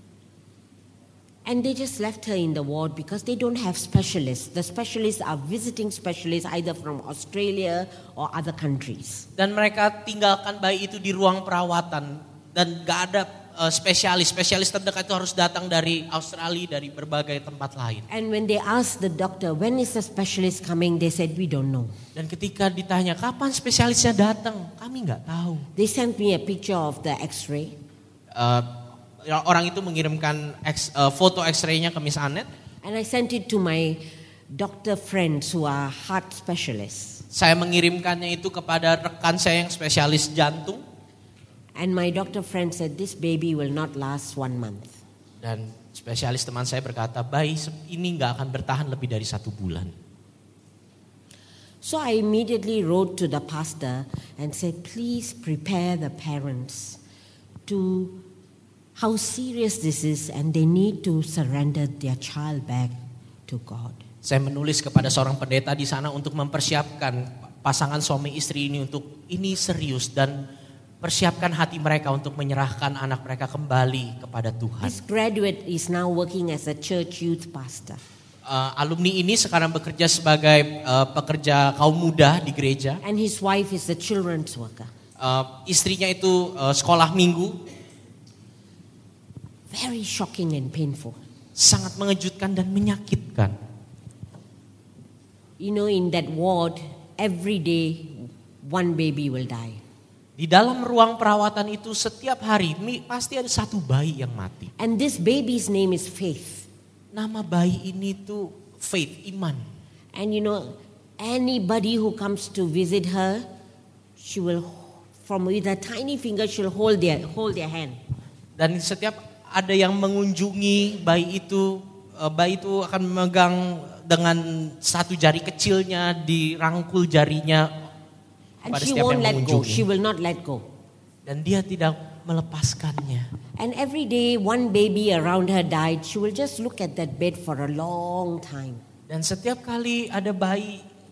And they just left her in the ward because they don't have specialists. The specialists are visiting specialists either from Australia or other countries. Dan mereka tinggalkan bayi itu di ruang perawatan dan gak ada uh, spesialis. Spesialis terdekat itu harus datang dari Australia, dari berbagai tempat lain. And when they asked the doctor, when is the specialist coming? They said, we don't know. Dan ketika ditanya, kapan spesialisnya datang? Kami gak tahu. They sent me a picture of the X-ray. Uh, orang itu mengirimkan X, uh, foto X-ray-nya ke Miss Annette. And I sent it to my doctor friends who are heart specialists. Saya mengirimkannya itu kepada rekan saya yang spesialis jantung. And my doctor friend said, this baby will not last one month. Dan spesialis teman saya berkata, bayi ini gak akan bertahan lebih dari satu bulan. So I immediately wrote to the pastor and said, please prepare the parents to how serious this is and they need to surrender their child back to God. Saya menulis kepada seorang pendeta di sana untuk mempersiapkan pasangan suami istri ini untuk ini serius dan persiapkan hati mereka untuk menyerahkan anak mereka kembali kepada Tuhan. This graduate is now working as a church youth pastor. Uh, alumni ini sekarang bekerja sebagai uh, pekerja kaum muda di gereja. And his wife is a children's worker. Uh, istrinya itu uh, sekolah minggu. Very shocking and painful. Sangat mengejutkan dan menyakitkan. You know, in that ward, every day one baby will die. Di dalam ruang perawatan itu setiap hari pasti ada satu bayi yang mati. And this baby's name is Faith. Nama bayi ini tuh Faith, iman. And you know, anybody who comes to visit her, she will, from with her tiny finger, she'll hold their hold their hand. Dan setiap ada yang mengunjungi bayi itu, bayi itu akan memegang dengan satu jari kecilnya, dirangkul jarinya. And she won't let go. She will not let go. Dan dia tidak melepaskannya. And every day one baby around her died, she will just look at that bed for a long time. Dan setiap kali ada bayi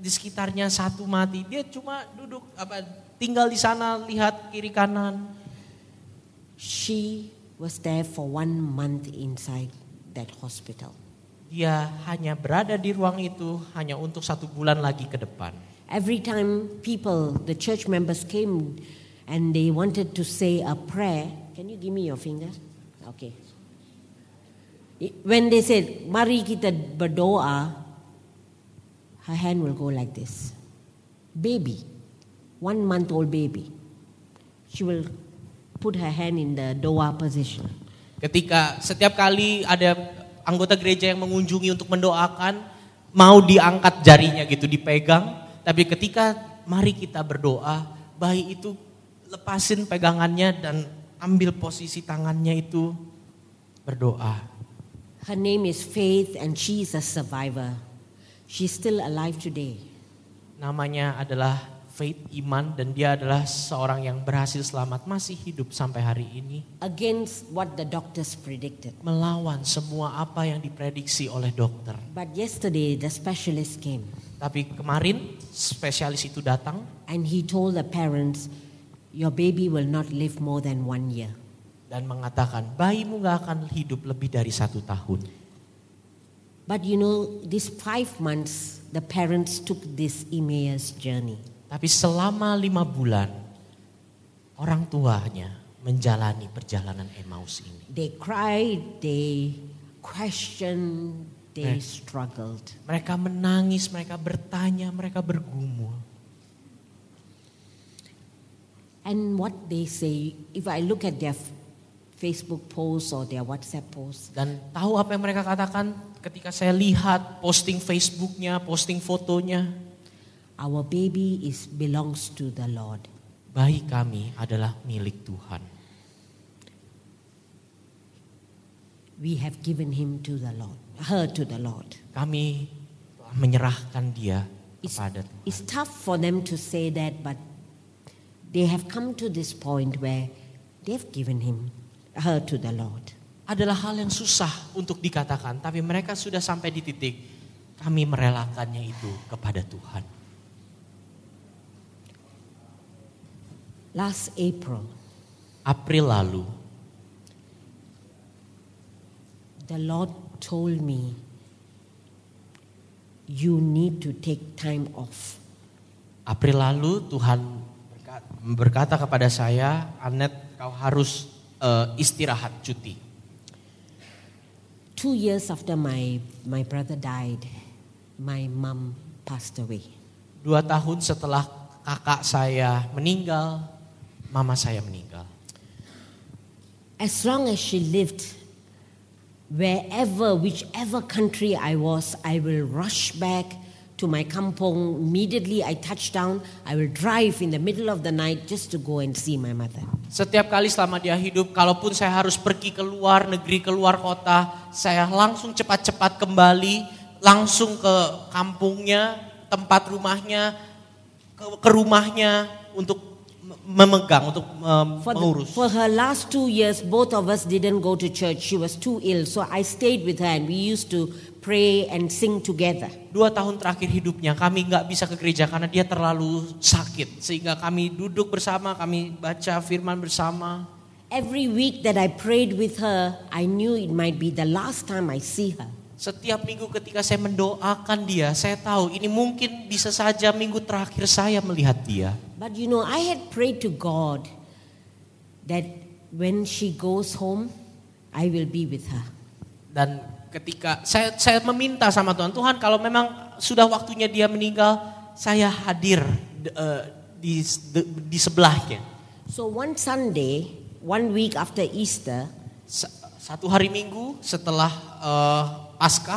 di sekitarnya satu mati. Dia cuma duduk apa tinggal di sana lihat kiri kanan. She was there for one month inside that hospital. Dia hanya berada di ruang itu hanya untuk satu bulan lagi ke depan. Every time people, the church members came and they wanted to say a prayer. Can you give me your finger? Okay. When they said, mari kita berdoa, her hand will go like this. Baby, one month old baby. She will put her hand in the doa position. Ketika setiap kali ada anggota gereja yang mengunjungi untuk mendoakan, mau diangkat jarinya gitu, dipegang. Tapi ketika mari kita berdoa, bayi itu lepasin pegangannya dan ambil posisi tangannya itu berdoa. Her name is Faith and she is a survivor. She's still alive today. Namanya adalah Faith Iman dan dia adalah seorang yang berhasil selamat, masih hidup sampai hari ini. Against what the doctors predicted. Melawan semua apa yang diprediksi oleh dokter. But yesterday the specialist came. Tapi kemarin spesialis itu datang. And he told the parents, your baby will not live more than one year. Dan mengatakan bayimu gak akan hidup lebih dari satu tahun. But you know, these five months the parents took this Emmaus journey. Tapi selama lima bulan orang tuanya menjalani perjalanan Emmaus ini. They cried, they questioned, they struggled. Mereka menangis, mereka bertanya, mereka bergumul. And what they say, if I look at their Facebook posts or their WhatsApp posts. Dan tahu apa yang mereka katakan ketika saya lihat posting Facebooknya, posting fotonya. Our baby is belongs to the Lord. Bayi kami adalah milik Tuhan. We have given him to the Lord, her to the Lord. Kami telah menyerahkan dia It's, kepada Tuhan. it's tough for them to say that, but they have come to this point where they've given him, her to the Lord. Adalah hal yang susah untuk dikatakan, tapi mereka sudah sampai di titik kami merelakannya itu kepada Tuhan. Last April, April lalu, the Lord told me, you need to take time off. April lalu Tuhan berkata kepada saya, Anet, kau harus uh, istirahat, cuti. Two years after my, my brother died, my mom passed away. Dua tahun setelah kakak saya meninggal, mama saya meninggal. As long as she lived, wherever, whichever country I was, I will rush back to my kampong. Immediately I touch down, I will drive in the middle of the night just to go and see my mother. Setiap kali selama dia hidup, kalaupun saya harus pergi ke luar negeri, ke luar kota, saya langsung cepat-cepat kembali, langsung ke kampungnya, tempat rumahnya, ke, ke rumahnya untuk memegang, untuk um, For, the, mengurus. for her last two years, both of us didn't go to church. She was too ill, so I stayed with her and we used to pray and sing together. Dua tahun terakhir hidupnya kami nggak bisa ke gereja karena dia terlalu sakit, sehingga kami duduk bersama, kami baca firman bersama. Every week that I prayed with her, I knew it might be the last time I see her. Setiap minggu ketika saya mendoakan dia, saya tahu ini mungkin bisa saja minggu terakhir saya melihat dia. But you know, I had prayed to God that when she goes home, I will be with her. Dan ketika saya saya meminta sama Tuhan, Tuhan kalau memang sudah waktunya dia meninggal, saya hadir uh, di di sebelahnya. So one Sunday, one week after Easter, satu hari Minggu setelah uh, Paskah,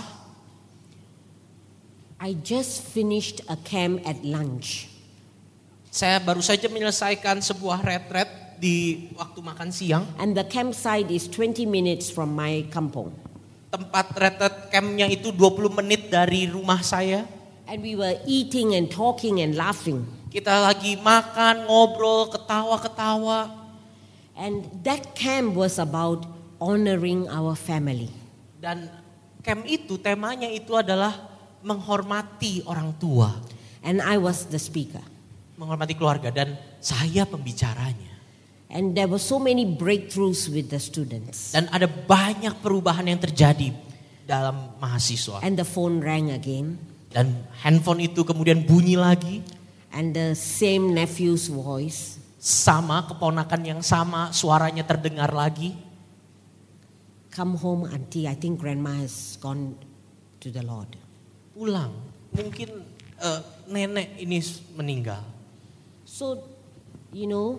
I just finished a camp at lunch. Saya baru saja menyelesaikan sebuah retret di waktu makan siang. And the campsite is twenty minutes from my kampong. Tempat retret campnya itu dua puluh menit dari rumah saya. And we were eating and talking and laughing. Kita lagi makan, ngobrol, ketawa-ketawa. And that camp was about honoring our family. Dan camp itu temanya itu adalah menghormati orang tua. And I was the speaker. Menghormati keluarga dan saya pembicaranya. And there were so many breakthroughs with the students. Dan ada banyak perubahan yang terjadi dalam mahasiswa. And the phone rang again. Dan handphone itu kemudian bunyi lagi. And the same nephew's voice. Sama, keponakan yang sama, suaranya terdengar lagi. Come home, auntie. I think grandma has gone to the Lord. Pulang, mungkin uh, nenek ini meninggal. So, you know,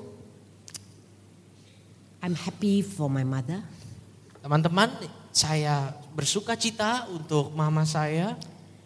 I'm happy for my mother. Teman-teman, saya bersuka cita untuk mama saya.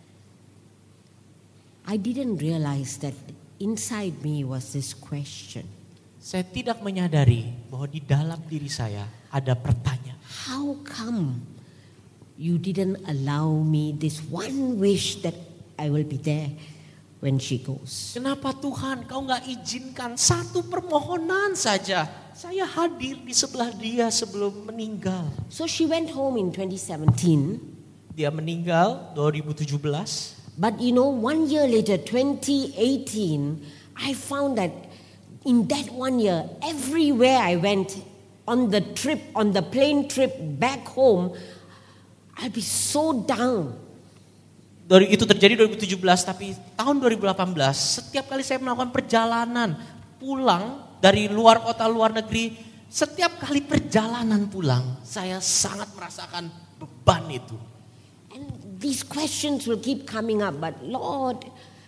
I didn't realize that inside me was this question. Saya tidak menyadari bahwa di dalam diri saya ada pertanyaan. How come you didn't allow me this one wish that I will be there when she goes? Kenapa Tuhan kau gak izinkan satu permohonan saja. Saya hadir di sebelah dia sebelum meninggal. So she went home in twenty seventeen. Dia meninggal dua ribu tujuh belas. But you know, one year later, twenty eighteen, I found that in that one year, everywhere I went, on the trip, on the plane trip back home, I'll be so down. Itu terjadi dua ribu tujuh belas, tapi tahun dua ribu delapan belas, setiap kali saya melakukan perjalanan pulang dari luar kota, luar negeri, setiap kali perjalanan pulang, saya sangat merasakan beban itu. And these questions will keep coming up, but Lord,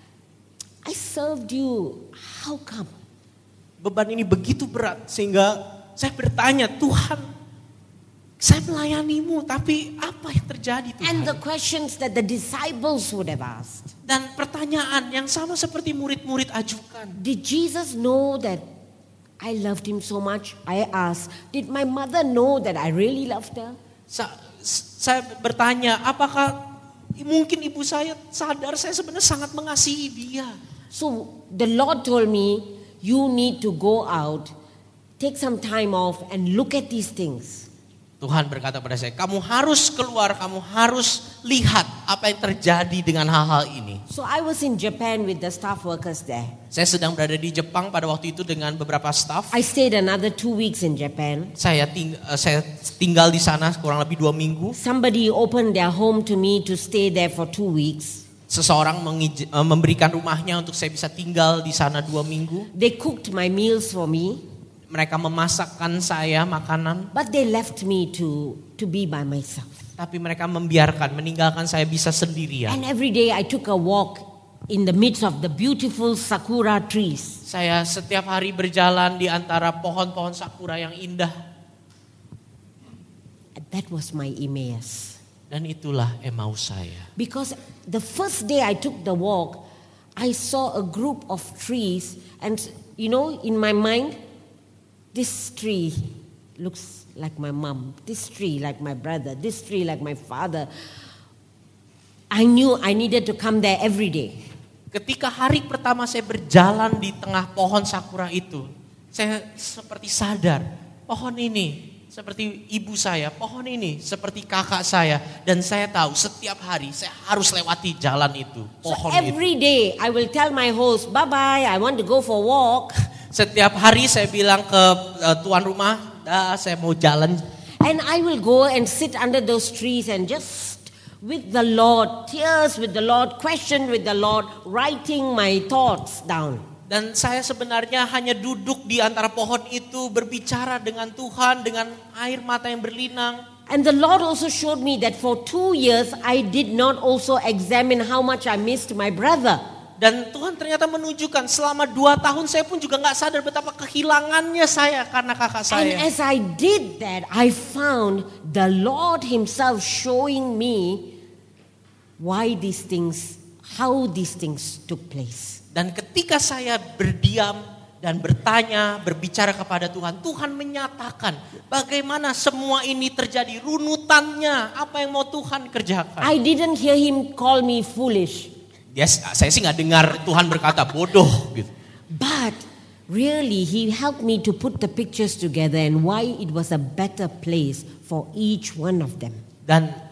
I served you, how come? Beban ini begitu berat sehingga saya bertanya, Tuhan, saya melayanimu, tapi apa yang terjadi Tuhan? And the questions that the disciples would have asked. Dan pertanyaan yang sama seperti murid-murid ajukan. Did Jesus know that I loved him so much? I asked. Did my mother know that I really loved her? Sa- saya bertanya, apakah mungkin ibu saya sadar saya sebenarnya sangat mengasihi dia? So the Lord told me, you need to go out, take some time off and look at these things. Tuhan berkata pada saya, kamu harus keluar, kamu harus lihat apa yang terjadi dengan hal-hal ini. So I was in Japan with the staff workers there. Saya sedang berada di Jepang pada waktu itu dengan beberapa staff. I stayed another two weeks in Japan. Saya, ting- saya tinggal di sana kurang lebih dua minggu. Somebody opened their home to me to stay there for two weeks. Seseorang mengij- memberikan rumahnya untuk saya bisa tinggal di sana dua minggu. They cooked my meals for me. Mereka memasakkan saya makanan. But they left me to, to be by myself. Tapi mereka membiarkan, meninggalkan saya bisa sendirian. And every day I took a walk in the midst of the beautiful sakura trees. Saya setiap hari berjalan di antara pohon-pohon sakura yang indah. That was my Emmaus. Dan itulah Emmaus saya. Because the first day I took the walk, I saw a group of trees. And you know, in my mind, this tree looks like my mom. This tree like my brother. This tree like my father. I knew I needed to come there every day. Ketika hari pertama saya berjalan di tengah pohon sakura itu, saya seperti sadar, pohon ini seperti ibu saya, pohon ini seperti kakak saya. Dan saya tahu setiap hari saya harus lewati jalan itu, pohon so every itu. day I will tell my host, bye-bye, I want to go for a walk. Setiap hari saya bilang ke uh, tuan rumah, dah saya mau jalan. And I will go and sit under those trees and just with the Lord, tears with the Lord, question with the Lord, writing my thoughts down. Dan saya sebenarnya hanya duduk di antara pohon itu, berbicara dengan Tuhan dengan air mata yang berlinang. And the Lord also showed me that for two years I did not also examine how much I missed my brother. Dan Tuhan ternyata menunjukkan selama dua tahun saya pun juga gak sadar betapa kehilangannya saya karena kakak saya. And as I did that, I found the Lord himself showing me why these things, how these things took place. Dan ketika saya berdiam dan bertanya, berbicara kepada Tuhan, Tuhan menyatakan bagaimana semua ini terjadi, runutannya, apa yang mau Tuhan kerjakan. I didn't hear him call me foolish. Dia, saya sih gak dengar Tuhan berkata bodoh gitu. But really he helped me to put the pictures together and why it was a better place for each one of them. Dan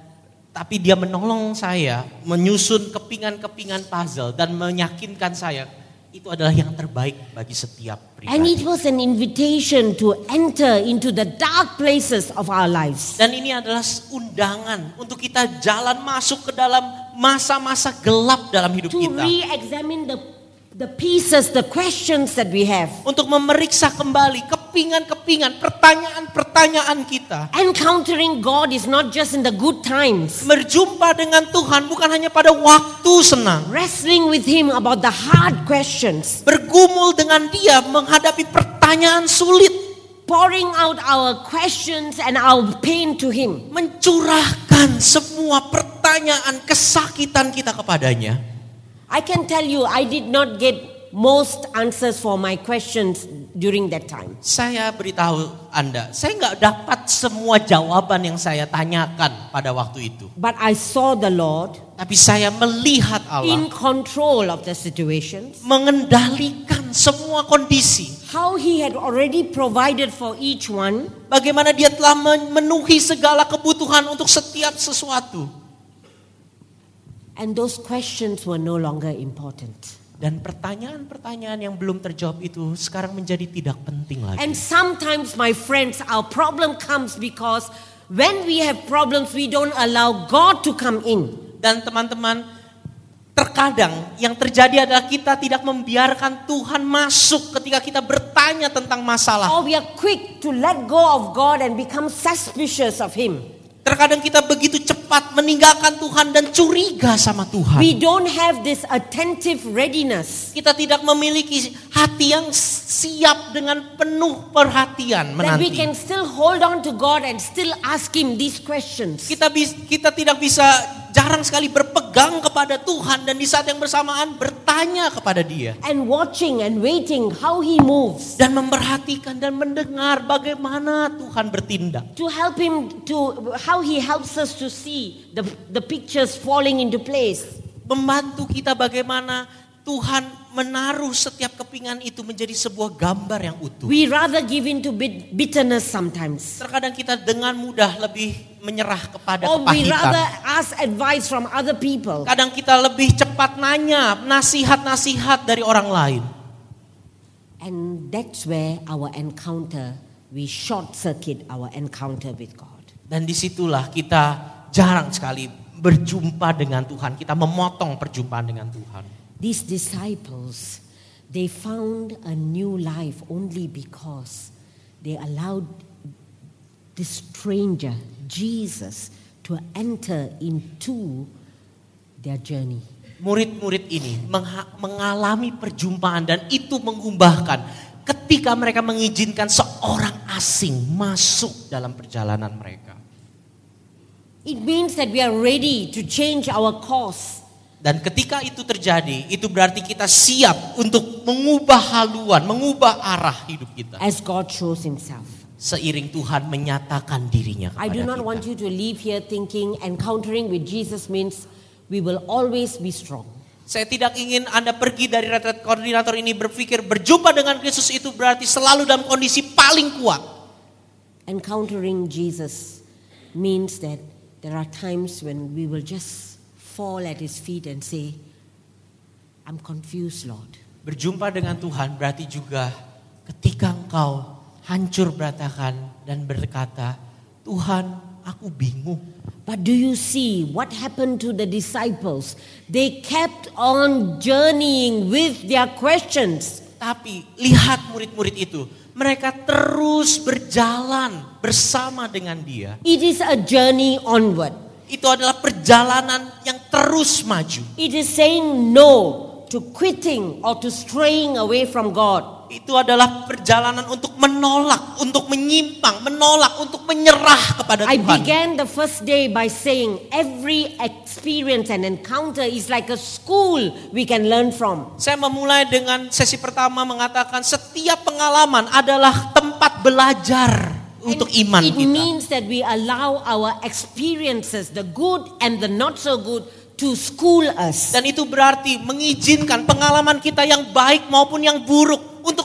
Tapi dia menolong saya menyusun kepingan-kepingan puzzle dan meyakinkan saya itu adalah yang terbaik bagi setiap And it pribadi. was an invitation to enter into the dark places of our lives. Dan ini adalah undangan untuk kita jalan masuk ke dalam masa-masa gelap dalam hidup To kita. re-examine the, the pieces, the questions that we have. Untuk memeriksa kembali kepingan-kepingan, pertanyaan-pertanyaan kita. Encountering God is not just in the good times. Berjumpa dengan Tuhan bukan hanya pada waktu senang. Wrestling with Him about the hard questions. Bergumul dengan Dia menghadapi pertanyaan sulit. Pouring out our questions and our pain to Him. Mencurahkan semua pertanyaan kesakitan kita kepadanya. I can tell you, I did not get most answers for my questions during that time. Saya beritahu Anda, saya nggak dapat semua jawaban yang saya tanyakan pada waktu itu. But I saw the Lord Tapi saya melihat in Allah control of the situations. mengendalikan semua kondisi. How He had already provided for each one. Bagaimana Dia telah memenuhi segala kebutuhan untuk setiap sesuatu. And those questions were no longer important. Dan pertanyaan-pertanyaan yang belum terjawab itu sekarang menjadi tidak penting lagi. And sometimes, my friends, our problem comes because when we have problems, we don't allow God to come in. Dan teman-teman, terkadang yang terjadi adalah kita tidak membiarkan Tuhan masuk ketika kita bertanya tentang masalah. Or we are quick to let go of God and become suspicious of Him. Terkadang kita begitu cepat meninggalkan Tuhan dan curiga sama Tuhan. We don't have this attentive readiness Kita tidak memiliki hati yang siap dengan penuh perhatian that we menanti. can still hold on to God and still ask Him these questions. Kita bis- kita tidak bisa jarang sekali berpegang kepada Tuhan dan di saat yang bersamaan bertanya kepada Dia And watching and waiting how He moves. dan memperhatikan dan mendengar bagaimana Tuhan bertindak. To help Him to how He helps us to see the, the pictures falling into place. Membantu kita bagaimana Tuhan menaruh setiap kepingan itu menjadi sebuah gambar yang utuh. We rather give in to bit- bitterness sometimes. Terkadang kita dengan mudah lebih menyerah kepada Or we rather kepahitan. ask advice from other people. Kadang kita lebih cepat nanya nasihat-nasihat dari orang lain. And that's where our encounter, we short circuit our encounter with God. Dan disitulah kita jarang sekali berjumpa dengan Tuhan. Kita memotong perjumpaan dengan Tuhan. These disciples, they found a new life only because they allowed this stranger, Jesus, to enter into their journey. Murid-murid ini mengha- mengalami perjumpaan dan itu mengubahkan ketika mereka mengizinkan seorang asing masuk dalam perjalanan mereka. It means that we are ready to change our course. Dan ketika itu terjadi, itu berarti kita siap untuk mengubah haluan, mengubah arah hidup kita. As God shows Himself. Seiring Tuhan menyatakan dirinya I kepada do not kita. want you to leave here thinking encountering with Jesus means we will always be strong. Saya tidak ingin Anda pergi dari retret koordinator ini berpikir berjumpa dengan Kristus itu berarti selalu dalam kondisi paling kuat. Encountering Jesus means that there are times when we will just fall at His feet and say, I'm confused, Lord. Berjumpa dengan Tuhan berarti juga ketika engkau hancur berantakan dan berkata, Tuhan, aku bingung. But do you see what happened to the disciples? They kept on journeying with their questions. Tapi lihat murid-murid itu, mereka terus berjalan bersama dengan Dia. It is a journey onward. Itu adalah perjalanan yang terus maju. It is saying no to quitting or to straying away from God. Itu adalah perjalanan untuk menolak, untuk menyimpang, menolak, untuk menyerah kepada I Tuhan. began the first day by saying every experience and encounter is like a school we can learn from. Saya memulai dengan sesi pertama mengatakan setiap pengalaman adalah tempat belajar untuk And iman it kita. means that we allow our experiences, the good and the not so good, to school us. Dan itu berarti mengizinkan pengalaman kita yang baik maupun yang buruk untuk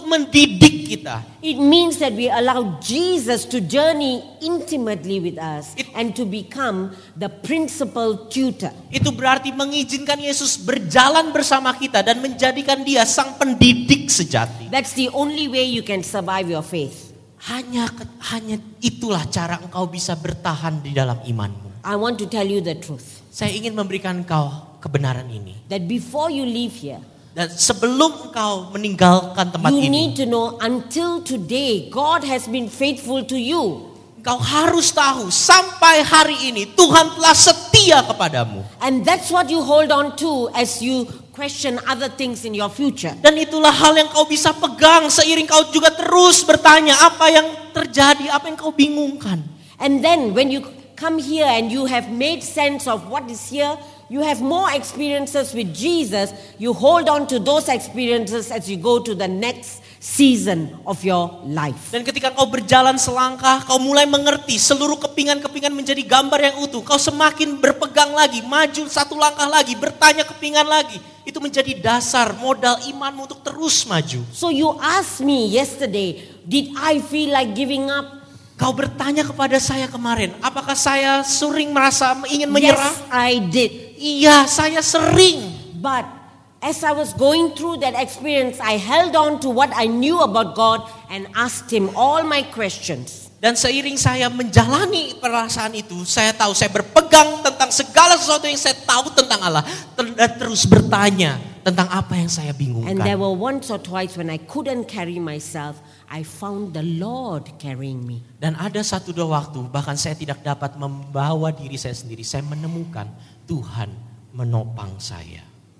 untuk mendidik kita. It means that we allow Jesus to journey intimately with us It- and to become the principal tutor. Itu berarti mengizinkan Yesus berjalan bersama kita dan menjadikan dia sang pendidik sejati. That's the only way you can survive your faith. Hanya hanya itulah cara engkau bisa bertahan di dalam imanmu. I want to tell you the truth. Saya ingin memberikan engkau kebenaran ini. That before you leave here, Dan sebelum engkau meninggalkan tempat you ini, need to know until today, God has been faithful to you. engkau harus tahu sampai hari ini Tuhan telah setia kepadamu. And that's what you hold on to as you question other things in your future. Dan itulah hal yang kau bisa pegang seiring kau juga terus bertanya apa yang terjadi, apa yang kau bingungkan. And then when you come here and you have made sense of what is here, you have more experiences with Jesus, you hold on to those experiences as you go to the next season of your life. Dan ketika kau berjalan selangkah, kau mulai mengerti seluruh kepingan-kepingan menjadi gambar yang utuh. Kau semakin berpegang lagi, maju satu langkah lagi, bertanya kepingan lagi. Itu menjadi dasar modal imanmu untuk terus maju. So you asked me yesterday, did I feel like giving up? Kau bertanya kepada saya kemarin, apakah saya sering merasa ingin menyerah? Yes, I did. Iya, saya sering. But as I was going through that experience, I held on to what I knew about God and asked Him all my questions. Dan seiring saya menjalani perasaan itu, saya tahu saya berpegang tentang segala sesuatu yang saya tahu tentang Allah. Dan terus bertanya tentang apa yang saya And there bingungkan. were once or twice when I couldn't carry myself, I found the Lord carrying me. Dan ada satu dua waktu, bahkan saya tidak dapat membawa diri saya sendiri. Saya menemukan Tuhan menopang saya.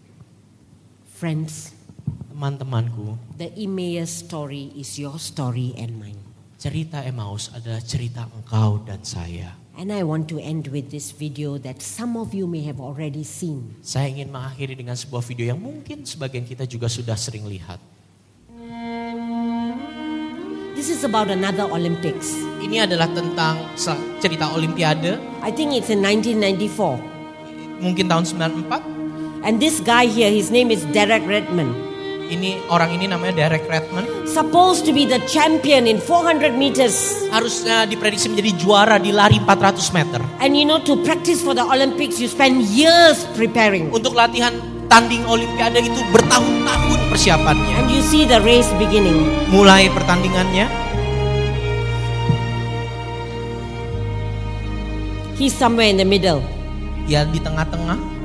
Friends, Teman-temanku, the Emmaus story is your story and mine. cerita Emmaus adalah cerita engkau dan saya. And I want to end with this video that some of you may have already seen. Saya ingin mengakhiri dengan sebuah video yang mungkin sebagian kita juga sudah sering lihat. This is about another Olympics. Ini adalah tentang cerita Olimpiade, I think it's in nineteen ninety-four. mungkin tahun sembilan puluh empat. And this guy here, his name is Derek Redmond. Ini orang ini namanya Derek Redmond. Supposed to be the champion in four hundred meters. Harusnya diprediksi menjadi juara di lari empat ratus meter. And you know, to practice for the Olympics, you spend years preparing. Untuk latihan tanding Olimpiade itu bertahun-tahun persiapannya. And you see the race beginning. Mulai pertandingannya, He's somewhere in the middle. ya di tengah-tengah.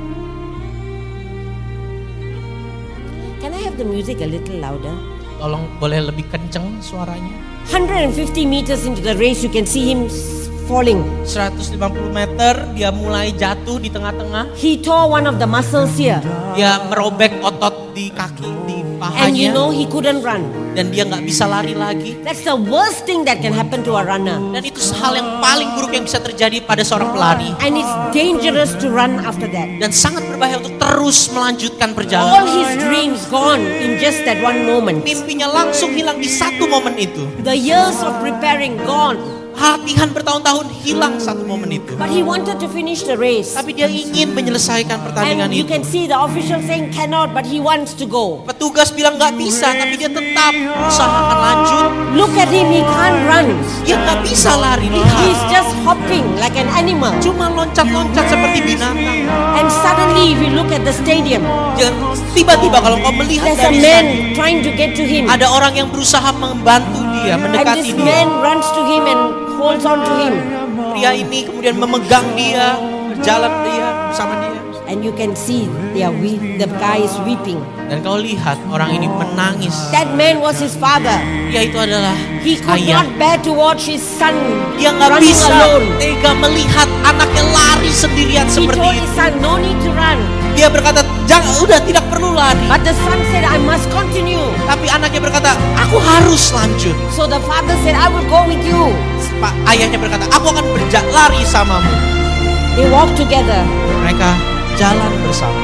Can I have the music a little louder? Tolong boleh lebih kenceng suaranya. one hundred fifty meters into the race, you can see him s- falling. seratus lima puluh meter dia mulai jatuh di tengah-tengah. He tore one of the muscles here. Dia merobek otot di kaki, di And you pahanya. know, he couldn't run. Dan dia gak bisa lari lagi. That's the worst thing that can happen to a runner. Dan itu hal yang paling buruk yang bisa terjadi pada seorang pelari. And it's dangerous to run after that. Dan sangat berbahaya untuk terus melanjutkan All perjalanan. his dreams gone in just that one moment. Mimpinya langsung hilang di satu momen itu. The years of preparing gone. Latihan bertahun-tahun hilang satu momen itu. But he wanted to finish the race. Tapi dia ingin menyelesaikan pertandingan And you itu. can see the official saying cannot, but he wants to go. Petugas bilang gak bisa, tapi dia tetap usahakan lanjut. Look at him, he can't run. Dia gak bisa lari, lihat. He's just hopping like an animal. Cuma loncat-loncat seperti binatang. And suddenly if you look at the stadium, Jangan tiba-tiba kalau kau melihat there's a dari man sana, trying to get to him. ada orang yang berusaha membantu dia, And mendekati this dia. man runs to him and holds on to him. Pria ini kemudian memegang dia, berjalan dia bersama dia. And you can see they are weep, the guy is weeping. Dan kau lihat orang ini menangis. That man was his father. Dia itu adalah He could ayah. not bear to watch his son Dia nggak running bisa alone. tega melihat anaknya lari sendirian He seperti told itu. his son, no need to run. Dia berkata, jangan, udah tidak perlu lari. But the son said, I must continue. Tapi anaknya berkata, aku harus lanjut. So the father said, I will go with you. Pak ayahnya berkata, aku akan berja- lari samamu. They walked together. Mereka jalan bersama.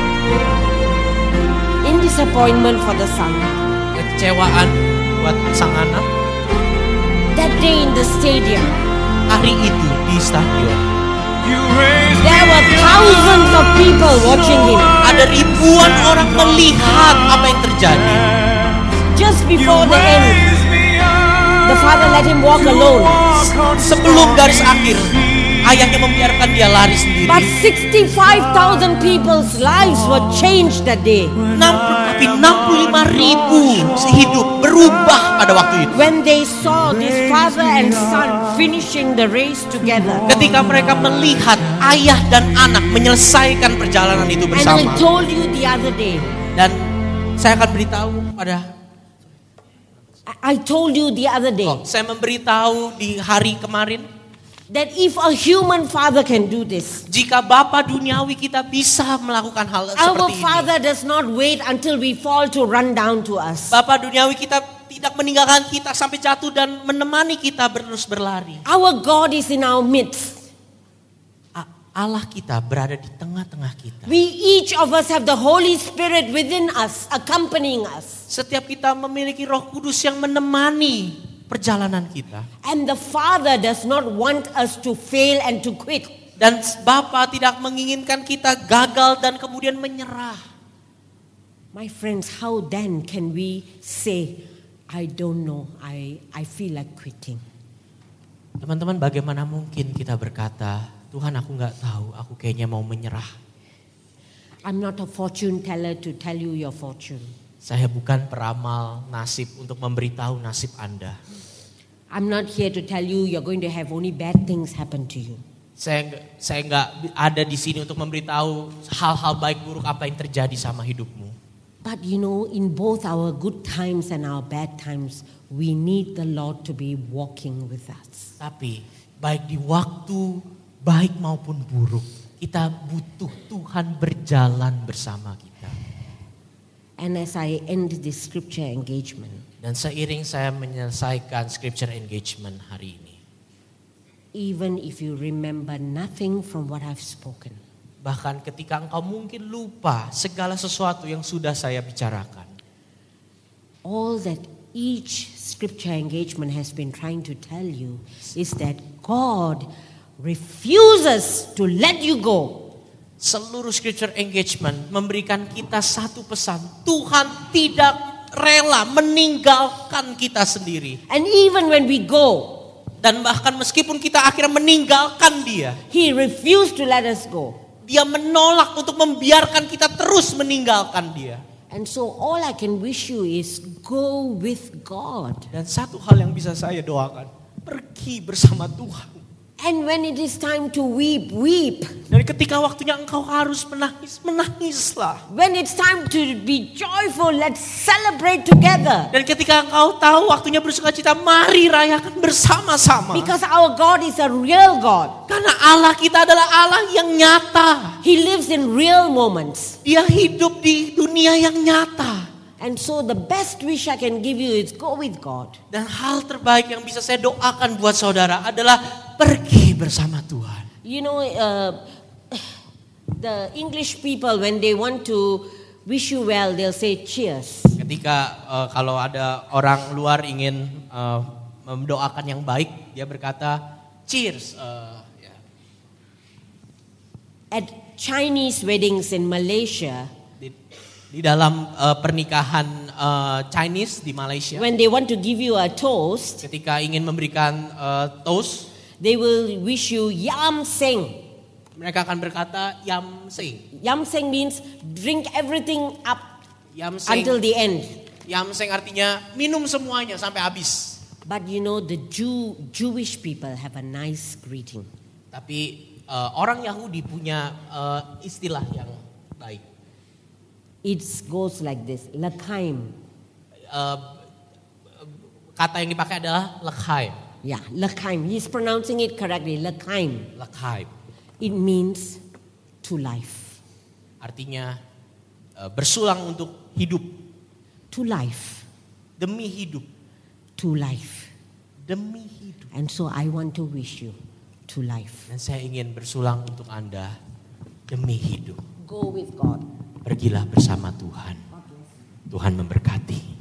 In disappointment for the son. Kekecewaan buat sang anak. That day in the stadium, Hari itu di stadion there were thousands of people watching him. ada ribuan orang melihat apa yang terjadi. just before the end, the father let him walk alone. Sebelum garis akhir, ayahnya membiarkan dia lari sendiri. But sixty-five thousand people's lives were changed that day. Tapi enam puluh lima ribu hidup berubah pada waktu itu. When they saw this father and son finishing the race together. Ketika mereka melihat ayah dan anak menyelesaikan perjalanan itu bersama. And I told you the other day. Dan saya akan beritahu pada I told you the other day. Oh, saya memberitahu di hari kemarin that if a human father can do this, jika Bapa duniawi kita bisa melakukan hal our seperti ini. Father does not wait until we fall to run down to us. Bapa duniawi kita tidak meninggalkan kita sampai jatuh dan menemani kita terus berlari. Our God is in our midst. Allah kita berada di tengah-tengah kita. We each of us have the Holy Spirit within us, accompanying us. Setiap kita memiliki Roh Kudus yang menemani perjalanan kita. And the Father does not want us to fail and to quit. Dan Bapa tidak menginginkan kita gagal dan kemudian menyerah. My friends, how then can we say, I don't know, I I feel like quitting? Teman-teman, bagaimana mungkin kita berkata, Tuhan, aku nggak tahu, aku kayaknya mau menyerah. I'm not a fortune teller to tell you your fortune. Saya bukan peramal nasib untuk memberitahu nasib Anda. I'm not here to tell you you're going to have only bad things happen to you. Saya saya nggak ada di sini untuk memberitahu hal-hal baik buruk apa yang terjadi sama hidupmu. But you know, in both our good times and our bad times, we need the Lord to be walking with us. Tapi baik di waktu baik maupun buruk, kita butuh Tuhan berjalan bersama kita. And as I end this scripture engagement, dan seiring saya menyelesaikan scripture engagement hari ini, even if you remember nothing from what I've spoken, bahkan ketika engkau mungkin lupa segala sesuatu yang sudah saya bicarakan, all that each scripture engagement has been trying to tell you is that God refuses to let you go. Seluruh scripture engagement memberikan kita satu pesan. Tuhan tidak rela meninggalkan kita sendiri. And even when we go, dan bahkan meskipun kita akhirnya meninggalkan dia, He refused to let us go. Dia menolak untuk membiarkan kita terus meninggalkan dia. And so all I can wish you is go with God. Dan satu hal yang bisa saya doakan, pergi bersama Tuhan. And when it is time to weep, weep. Dan ketika waktunya engkau harus menangis, menangislah. When it's time to be joyful, let's celebrate together. Dan ketika engkau tahu waktunya bersukacita, mari rayakan bersama-sama. Because our God is a real God. Karena Allah kita adalah Allah yang nyata. He lives in real moments. Dia hidup di dunia yang nyata. And so the best wish I can give you is go with God. Dan hal terbaik yang bisa saya doakan buat saudara adalah pergi bersama Tuhan. You know, uh, the English people when they want to wish you well, they'll say cheers. Ketika uh, kalau ada orang luar ingin uh, mendoakan yang baik, dia berkata cheers. Uh, yeah. At Chinese weddings in Malaysia, di, di dalam uh, pernikahan uh, Chinese di Malaysia, when they want to give you a toast, ketika ingin memberikan uh, toast, they will wish you yam seng. Mereka akan berkata yam seng. Yam seng means drink everything up Yam seng, until the end. Yam seng artinya minum semuanya sampai habis. But you know the Jew Jewish people have a nice greeting. Tapi uh, orang Yahudi punya uh, istilah yang baik. It goes like this, lekaim. Uh, kata yang dipakai adalah lekaim. Yeah, lekaim. He's pronouncing it correctly, lekaim. Lekaim. It means to life. Artinya uh, bersulang untuk hidup. To life. Demi hidup. To life. Demi hidup. And so I want to wish you to life. Dan saya ingin bersulang untuk Anda demi hidup. Go with God. Pergilah bersama Tuhan. Tuhan memberkati.